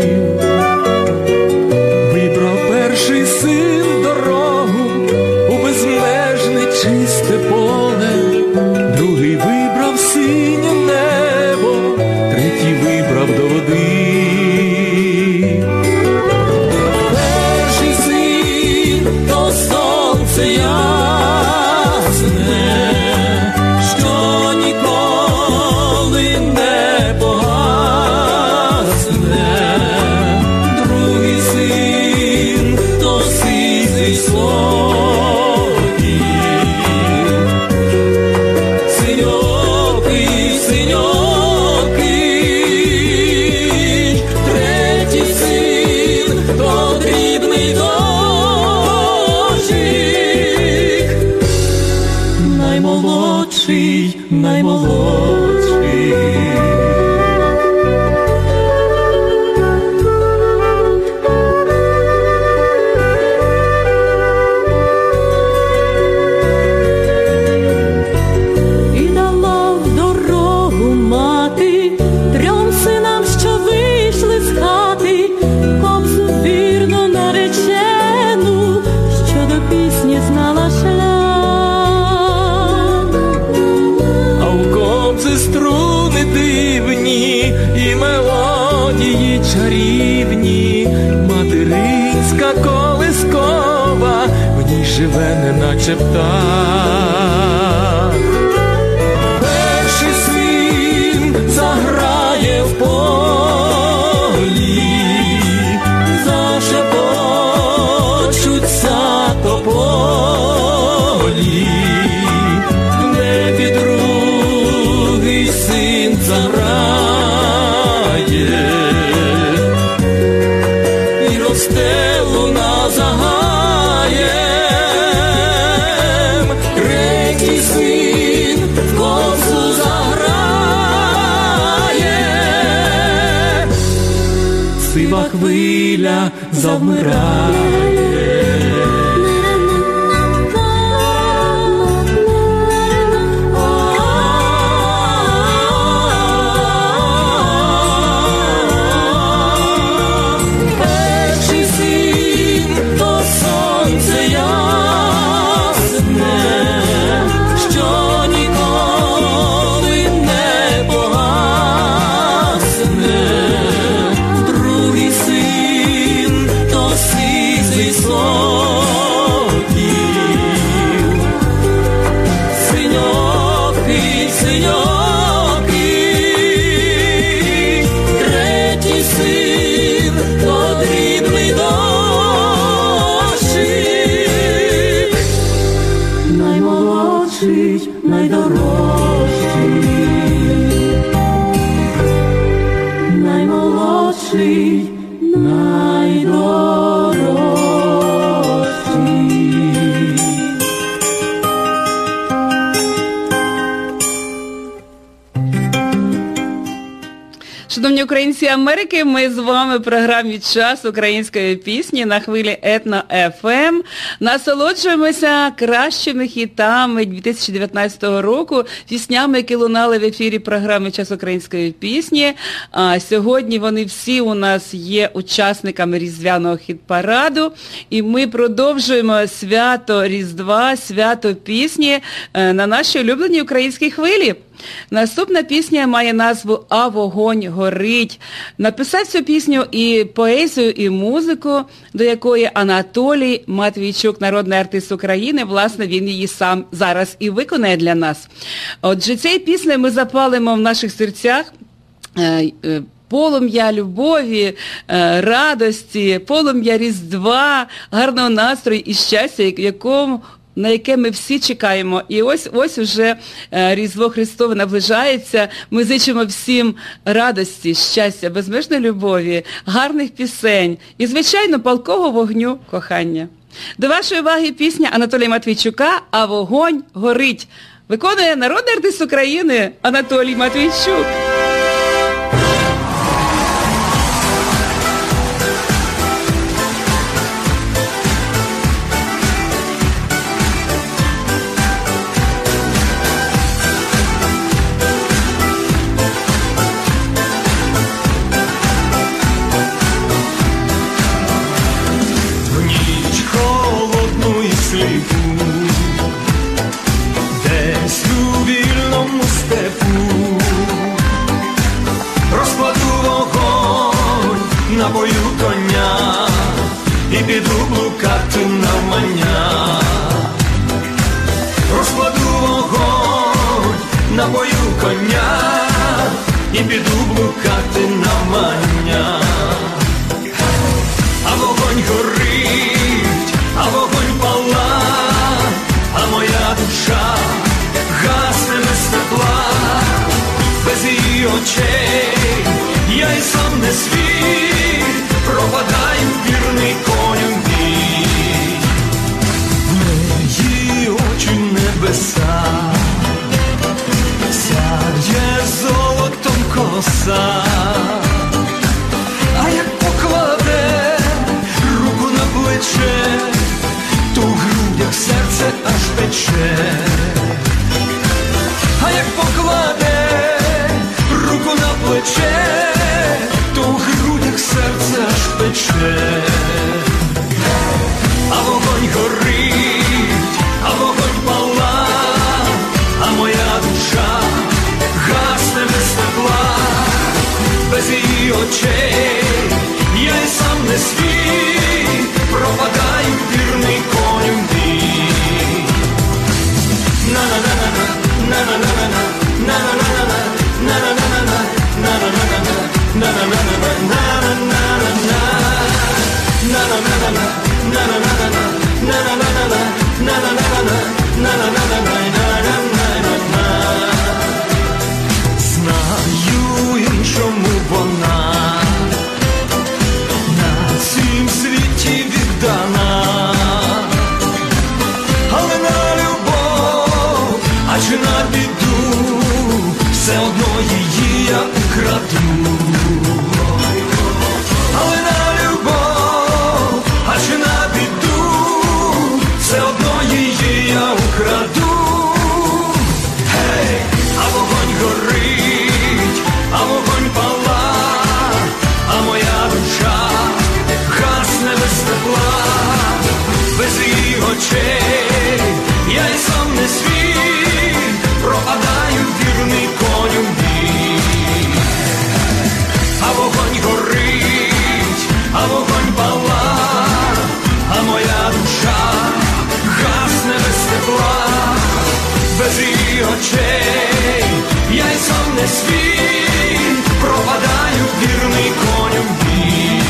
Вибрав перший син дорогу у безмежне чисте поле, другий вибрав синє небо, третій вибрав до води. Сонце ясне, що ніколи не погасне, другий син то сизий слоні, синьокий, синьокий, третій син то дрібний дощ. Наймолодший, наймолодший. І дала в дорогу мати трьом синам, що вийшли з хати, кобзу вірно наречену, що до пісні знала шлях. Струни дивні і мелодії чарівні, материнська колискова, в ній живе неначе птах. Перший син заграє в полі, зашепочуться тополі, не підру син заграє, і росте луна за гаєм, третій син в косу заграє, сива хвиля завмирає. Другий син то сизий Шановні українці Америки, ми з вами в програмі «Час української пісні» на хвилі Етно еф ем. Насолоджуємося кращими хітами дві тисячі дев'ятнадцятого року, піснями, які лунали в ефірі програми «Час української пісні». А сьогодні вони всі у нас є учасниками Різдвяного хіт-параду. І ми продовжуємо свято Різдва, свято пісні на нашій улюбленій українській хвилі. Наступна пісня має назву «А вогонь горить». Написав цю пісню і поезію, і музику, до якої Анатолій Матвійчук, народний артист України, власне, він її сам зараз і виконає для нас. Отже, цією піснею ми запалимо в наших серцях полум'я любові, радості, полум'я Різдва, гарного настрою і щастя, якому на яке ми всі чекаємо. І ось ось уже Різдво Христове наближається. Ми зичимо всім радості, щастя, безмежної любові, гарних пісень і, звичайно, палкого вогню кохання. До вашої уваги пісня Анатолія Матвійчука «А вогонь горить». Виконує народний артист України Анатолій Матвійчук. Десь у вільному степу розкладу вогонь, напою коня і піду блукати навмання. Розкладу вогонь, напою коня і піду блукати навмання. А вогонь горить, а вогонь пала, а моя душа гасне без тепла, без її очей я й сам не свій, пропадаю вірний коню бій. В неї очі небеса, сяє золотом коса, а як покладе руку на плече, то в грудях серце аж пече. А як покладе руку на плече, то в грудях серце аж пече. А вогонь горить, а вогонь пала, а моя душа гасне без тепла, без її очей я й сам не свій, пропадаю вірний коню бій. На-на-на-на-на, на-на-на-на-на, на-на-на-на-на, на-на-на-на-на, на-на-на-на-на, на-на-на-на-на, на-на-на-на-на, на-на-на-на-на, на-на-на-на-на, на-на-на-на-на, на-на-на-на-на. Знаю, іншому вона на цім світі віддана, але на любов, а чи на біду, все одно її я украду. Але на любов, а чи на біду, все одно її я украду. Гей, а вогонь горить, а вогонь пала, а моя душа гасне без тепла, без її очей я й сам не свій, пропадаю вірний коню бій. А вогонь горить, а вогонь пала, а моя душа гасне без тепла, без її очей я й сам не свій, пропадаю вірний коню бій.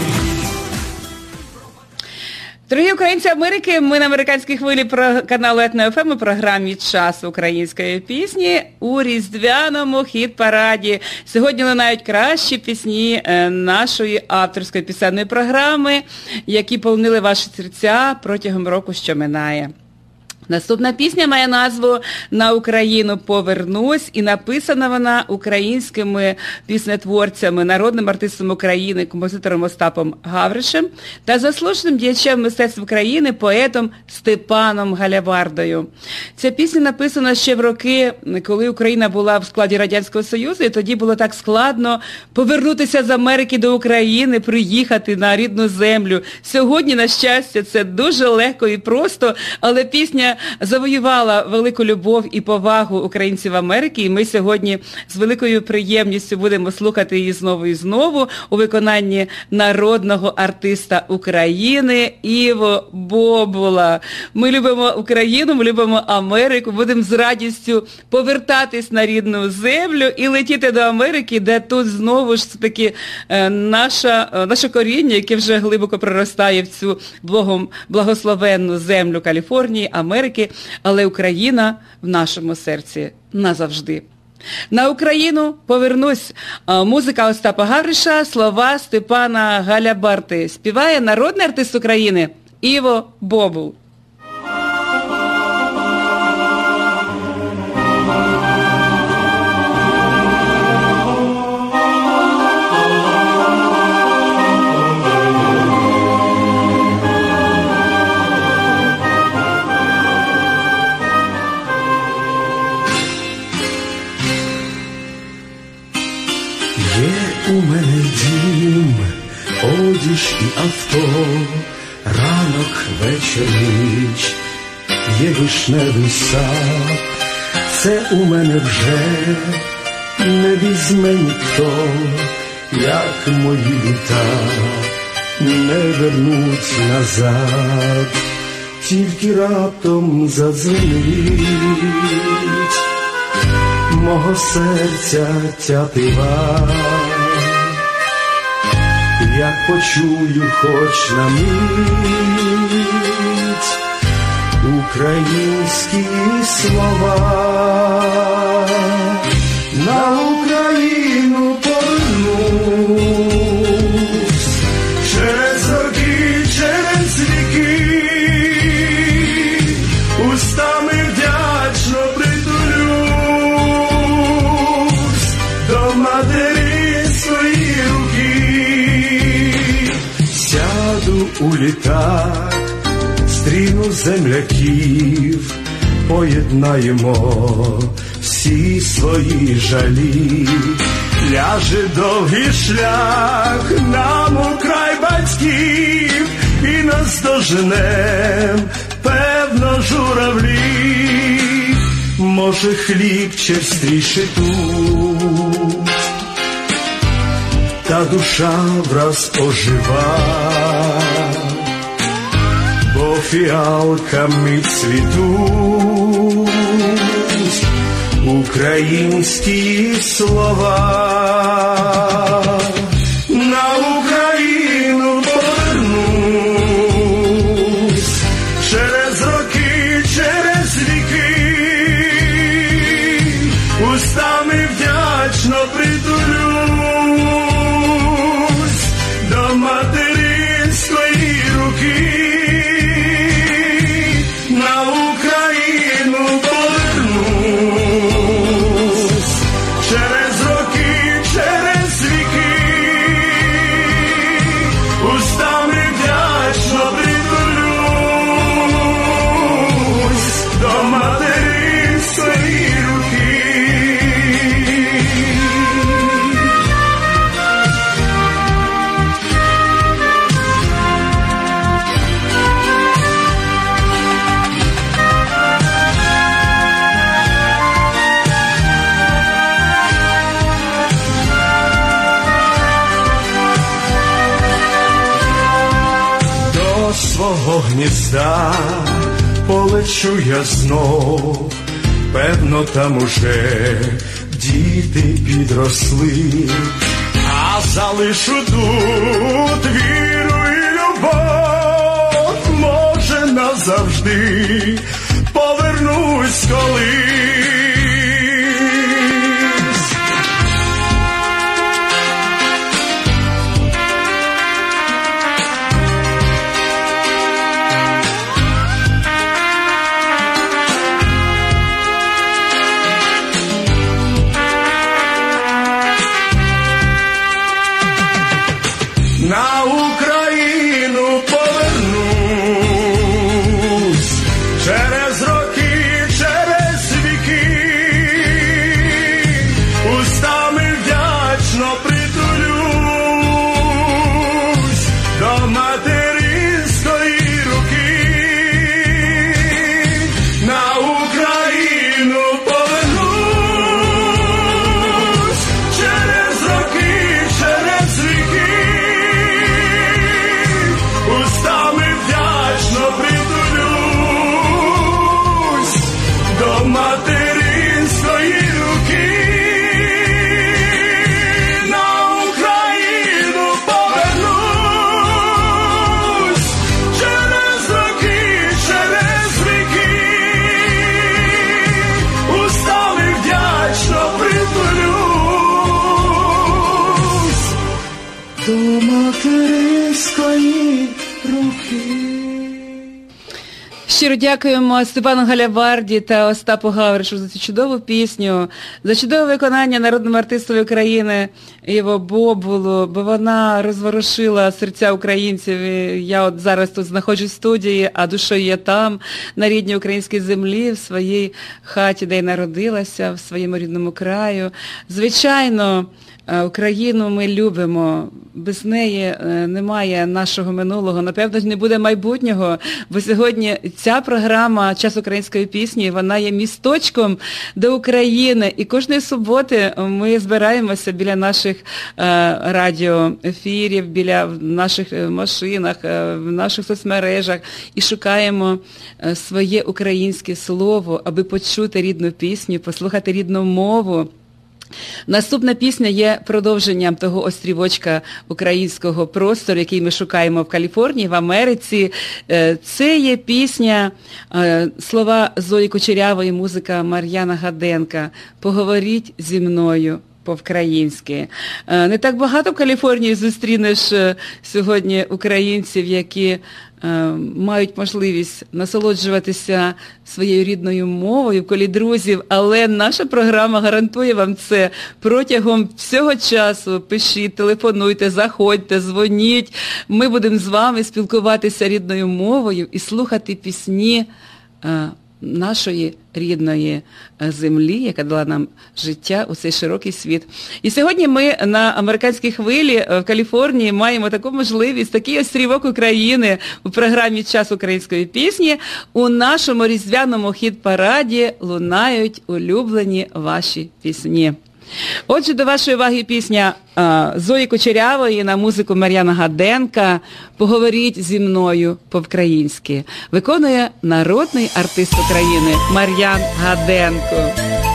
Дорогі українці Америки, ми на американській хвилі про каналу Етно еф ем у програмі «Час української пісні» у Різдвяному хіт-параді. Сьогодні лунають кращі пісні нашої авторської пісенної програми, які полонили ваші серця протягом року, що минає. Наступна пісня має назву «На Україну повернусь», і написана вона українськими піснетворцями, народним артистом України, композитором Остапом Гавришем та заслуженим діячем мистецтв України, поетом Степаном Галявардою. Ця пісня написана ще в роки, коли Україна була в складі Радянського Союзу, і тоді було так складно повернутися з Америки до України, приїхати на рідну землю. Сьогодні, на щастя, це дуже легко і просто, але пісня завоювала велику любов і повагу українців Америки, і ми сьогодні з великою приємністю будемо слухати її знову і знову у виконанні народного артиста України Іво Бобула. Ми любимо Україну, ми любимо Америку, будемо з радістю повертатись на рідну землю і летіти до Америки, де тут знову ж таки наша, наше коріння, яке вже глибоко проростає в цю благом, благословенну землю Каліфорнії, Америки, але Україна в нашому серці назавжди. На Україну повернусь. Музика Остапа Гавриша, слова Степана Галяварди. Співає народний артист України Іво Бобул. У мене дім, одіж і авто, ранок, вечір, ніч, є вишневий сад. Це у мене вже не візьме ніхто, як мої літа не вернуть назад. Тільки раптом задзвонить мого серця тятива. Як почую хоч на мить українські слова, на Україну повернусь, через роки, через віки, устами вдячно притулюсь до матері своєї руки. Сяду у літак, стріну земляків, поєднаємо всі свої жалі. Ляже довгий шлях нам у край батьків, і наздоженем, певно, журавлі. Може, хліб черствіше тут, та душа враз ожива, бо фіалками цвітуть українські слова. На Україну повернусь, через роки, через віки, устами вдячно притулюсь до материнської руки. На Україну повернусь, через роки, через віки, устами вдячно притулюсь до материнської руки. До свого гнізда полечу я знов, певно, там уже діти підросли, а залишу тут віру і любов, може, назавжди повернусь колись. Щиро дякуємо Степану Галяварді та Остапу Гавришу за цю чудову пісню, за чудове виконання народному артистові України Іво Бобулу, бо вона розворушила серця українців. І я от зараз тут знаходжусь в студії, а душою я там, на рідній українській землі, в своїй хаті, де й народилася, в своєму рідному краю. Звичайно, Україну ми любимо, без неї немає нашого минулого, напевно, не буде майбутнього, бо сьогодні ця програма «Час української пісні», вона є місточком до України, і кожної суботи ми збираємося біля наших радіоефірів, біля наших машинах, в наших соцмережах і шукаємо своє українське слово, аби почути рідну пісню, послухати рідну мову. Наступна пісня є продовженням того острівочка українського простору, який ми шукаємо в Каліфорнії, в Америці. Це є пісня, слова Зої Кучерявої, музика Мар'яна Гаденка «Поговоріть зі мною по-українськи». Не так багато в Каліфорнії зустрінеш сьогодні українців, які мають можливість насолоджуватися своєю рідною мовою в колі друзів, але наша програма гарантує вам це протягом всього часу. Пишіть, телефонуйте, заходьте, дзвоніть. Ми будемо з вами спілкуватися рідною мовою і слухати пісні нашої рідної землі, яка дала нам життя у цей широкий світ. І сьогодні ми на американській хвилі в Каліфорнії маємо таку можливість, такий острівок України у програмі «Час української пісні». У нашому різдвяному хіт-параді лунають улюблені ваші пісні. Отже, до вашої уваги пісня Зої Кучерявої на музику Мар'яна Гаденка «Поговоріть зі мною по-українськи». Виконує народний артист України Мар'ян Гаденко.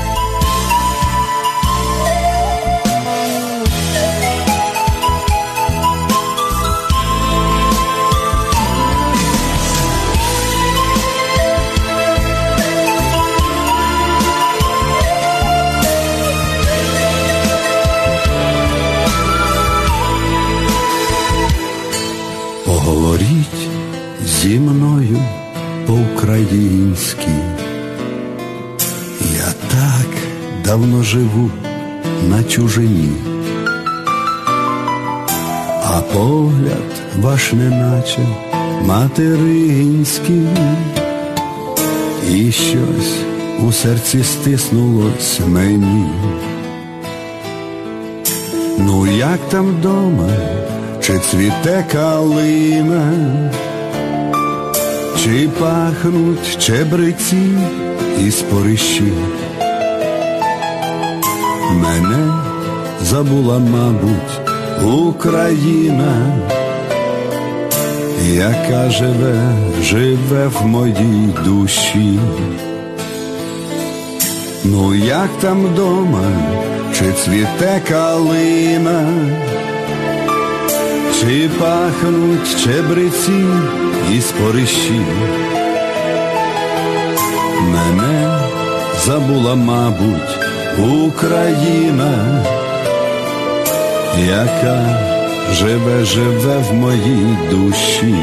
Поговоріть зі мною по-українськи. Я так давно живу на чужині, а погляд ваш неначе материнський, і щось у серці стиснулось мені. Ну як там дома? Чи цвіте калина, чи пахнуть чебреці і спорищі? Мене забула, мабуть, Україна, яка живе, живе в моїй душі. Ну як там дома, чи цвіте калина, чи пахнуть чебреці і спорищі? Мене забула, мабуть, Україна, яка живе, живе в моїй душі.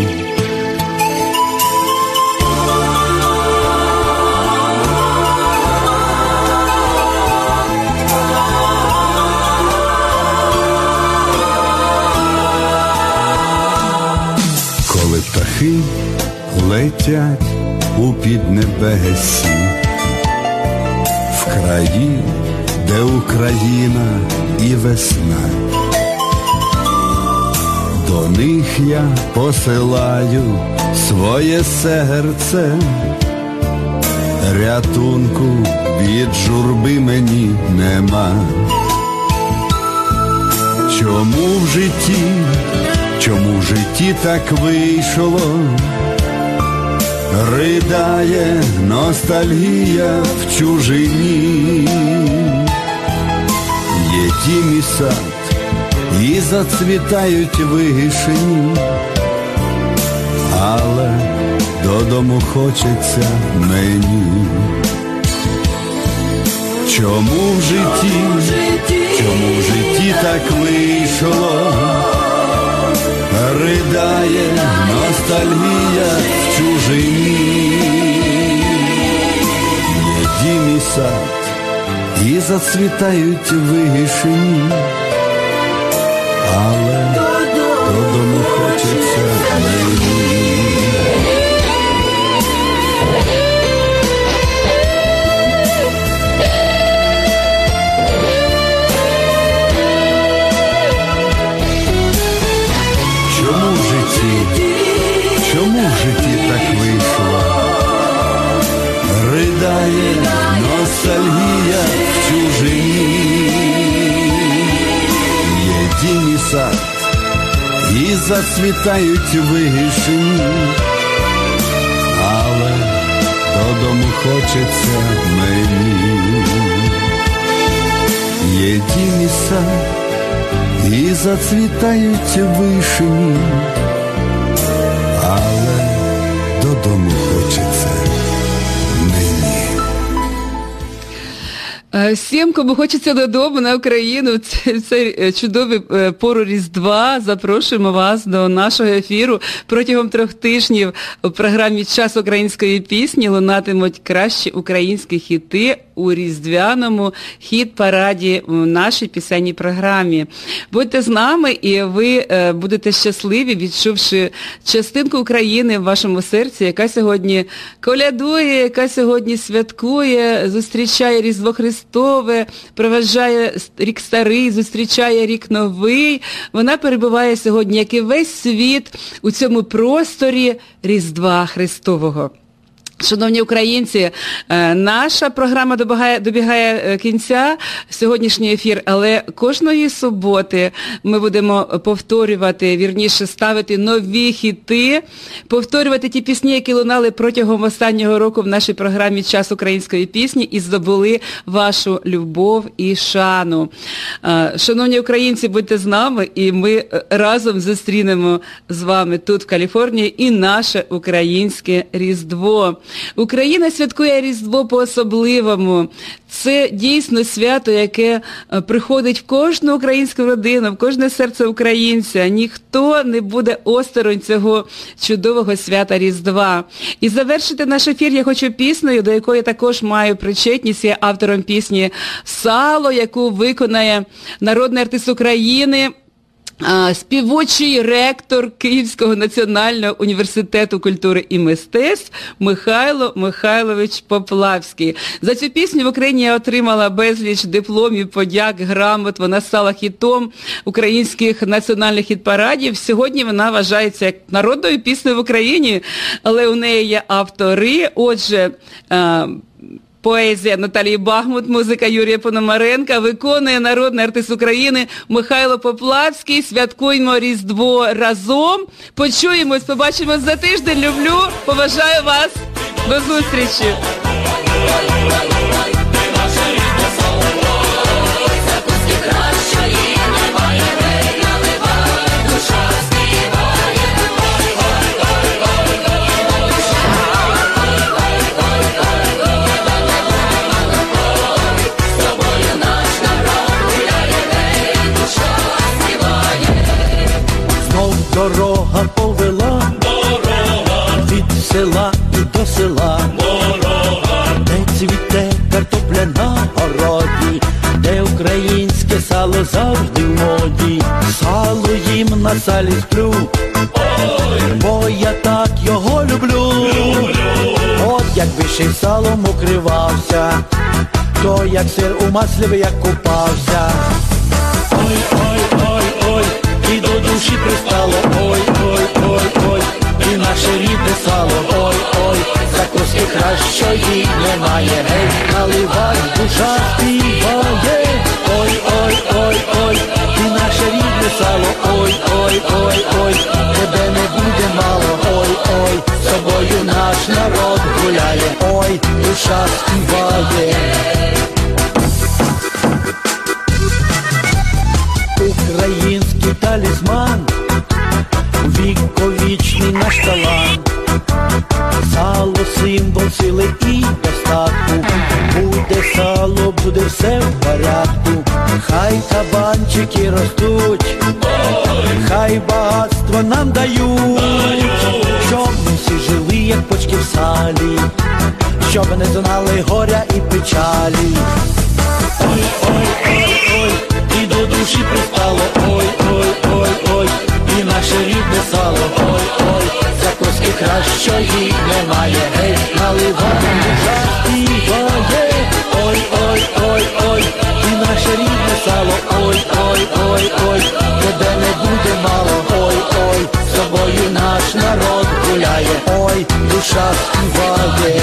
Птахи летять у піднебесі, в краї, де Україна і весна. До них я посилаю своє серце, рятунку від журби мені нема. Чому в житті Чому в житті так вийшло? Ридає ностальгія в чужині. Є тім і сад, і зацвітають вишені, але додому хочеться мені. Чому в житті, чому в житті так вийшло? Ридає ностальгія в чужині. сад, і зацвітають вишені, але додому хочеться мені. Чому в житті, чому в житті так вийшло? Ридає ностальгія в чужині. Є дім і сад, і зацвітають вишені, але додому хочеться мені. Є дім і сад, і зацвітають вишені, але додому хочеться мені. Всім, кому хочеться додому на Україну, це, це чудовий пору Різдва. Запрошуємо вас до нашого ефіру. Протягом трьох тижнів у програмі «Час української пісні» лунатимуть кращі українські хіти у різдвяному хіт-параді у нашій пісенній програмі. Будьте з нами, і ви будете щасливі, відчувши частинку України в вашому серці, яка сьогодні колядує, яка сьогодні святкує, зустрічає Різдво Христове, проважає рік старий, зустрічає рік новий. Вона перебуває сьогодні, як і весь світ, у цьому просторі Різдва Христового. Шановні українці, наша програма добігає, добігає кінця, сьогоднішній ефір, але кожної суботи ми будемо повторювати, вірніше ставити нові хіти, повторювати ті пісні, які лунали протягом останнього року в нашій програмі «Час української пісні» і здобули вашу любов і шану. Шановні українці, будьте з нами, і ми разом зустрінемо з вами тут, в Каліфорнії, і наше українське Різдво. Україна святкує Різдво по-особливому. Це дійсно свято, яке приходить в кожну українську родину, в кожне серце українця. Ніхто не буде осторонь цього чудового свята Різдва. І завершити наш ефір я хочу піснею, до якої також маю причетність. Я автором пісні «Сало», яку виконає народний артист України, співочий ректор Київського національного університету культури і мистецтв Михайло Михайлович Поплавський. За цю пісню в Україні я отримала безліч дипломів, подяк, грамот. Вона стала хітом українських національних хіт-парадів. Сьогодні вона вважається як народною піснею в Україні, але у неї є автори. Отже, поезія Наталії Бахмут, музика Юрія Пономаренка, виконує народний артист України Михайло Поплавський. Святкуємо Різдво разом. Почуємось, побачимось за тиждень. Люблю, поважаю вас. До зустрічі. Дорога повела, дорога, від села і до села, дорога, де цвіте картопля на городі, де українське сало завжди в моді. Сало їм на салі сплю, ой, бо я так його люблю. люблю. От якби ще й салом укривався, то як сир у маслі як купався. Ой, ой, ой, ой, і до душі пристало, ой, ой, ой, ой, і наше рідне сало, ой, ой, закуски кращої немає, гей, наливай, душа співає, ой, ой, ой, ой, і наше рідне сало, ой, ой, ой, ой, тебе не буде мало, ой, ой, з собою наш народ гуляє, ой, душа співає. Український талісман, віковічний наш талант, сало символ сили і достатку, буде сало, буде все в порядку, хай кабанчики ростуть, хай багатство нам дають, щоб ми всі жили, як почки в салі, щоб не знали горя і печалі. Ой, ой, ой, ой, і до душі пристало, ой, ой, ой, ой, і наше рідне сало, ой, ой, закуски кращої немає, гей, наливати душа співає, ой, ой, ой, ой, і наше рідне сало, ой, ой, ой, ой, тебе не буде мало, ой, ой, з тобою наш народ гуляє, ой, душа співає.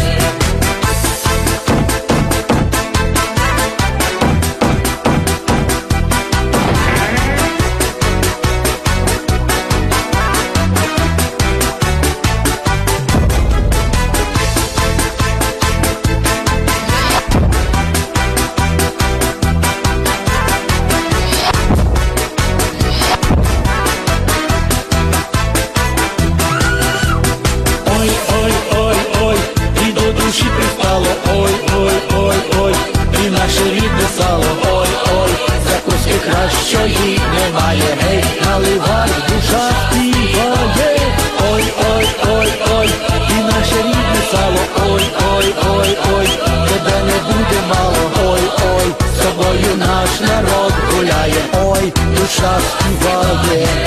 Кращої немає, гей, наливай, душа співає, ой, ой, ой, ой, і наше рідне сало, ой, ой, ой, ой, тебе не буде мало, ой, ой, з тобою наш народ гуляє, ой, душа співає.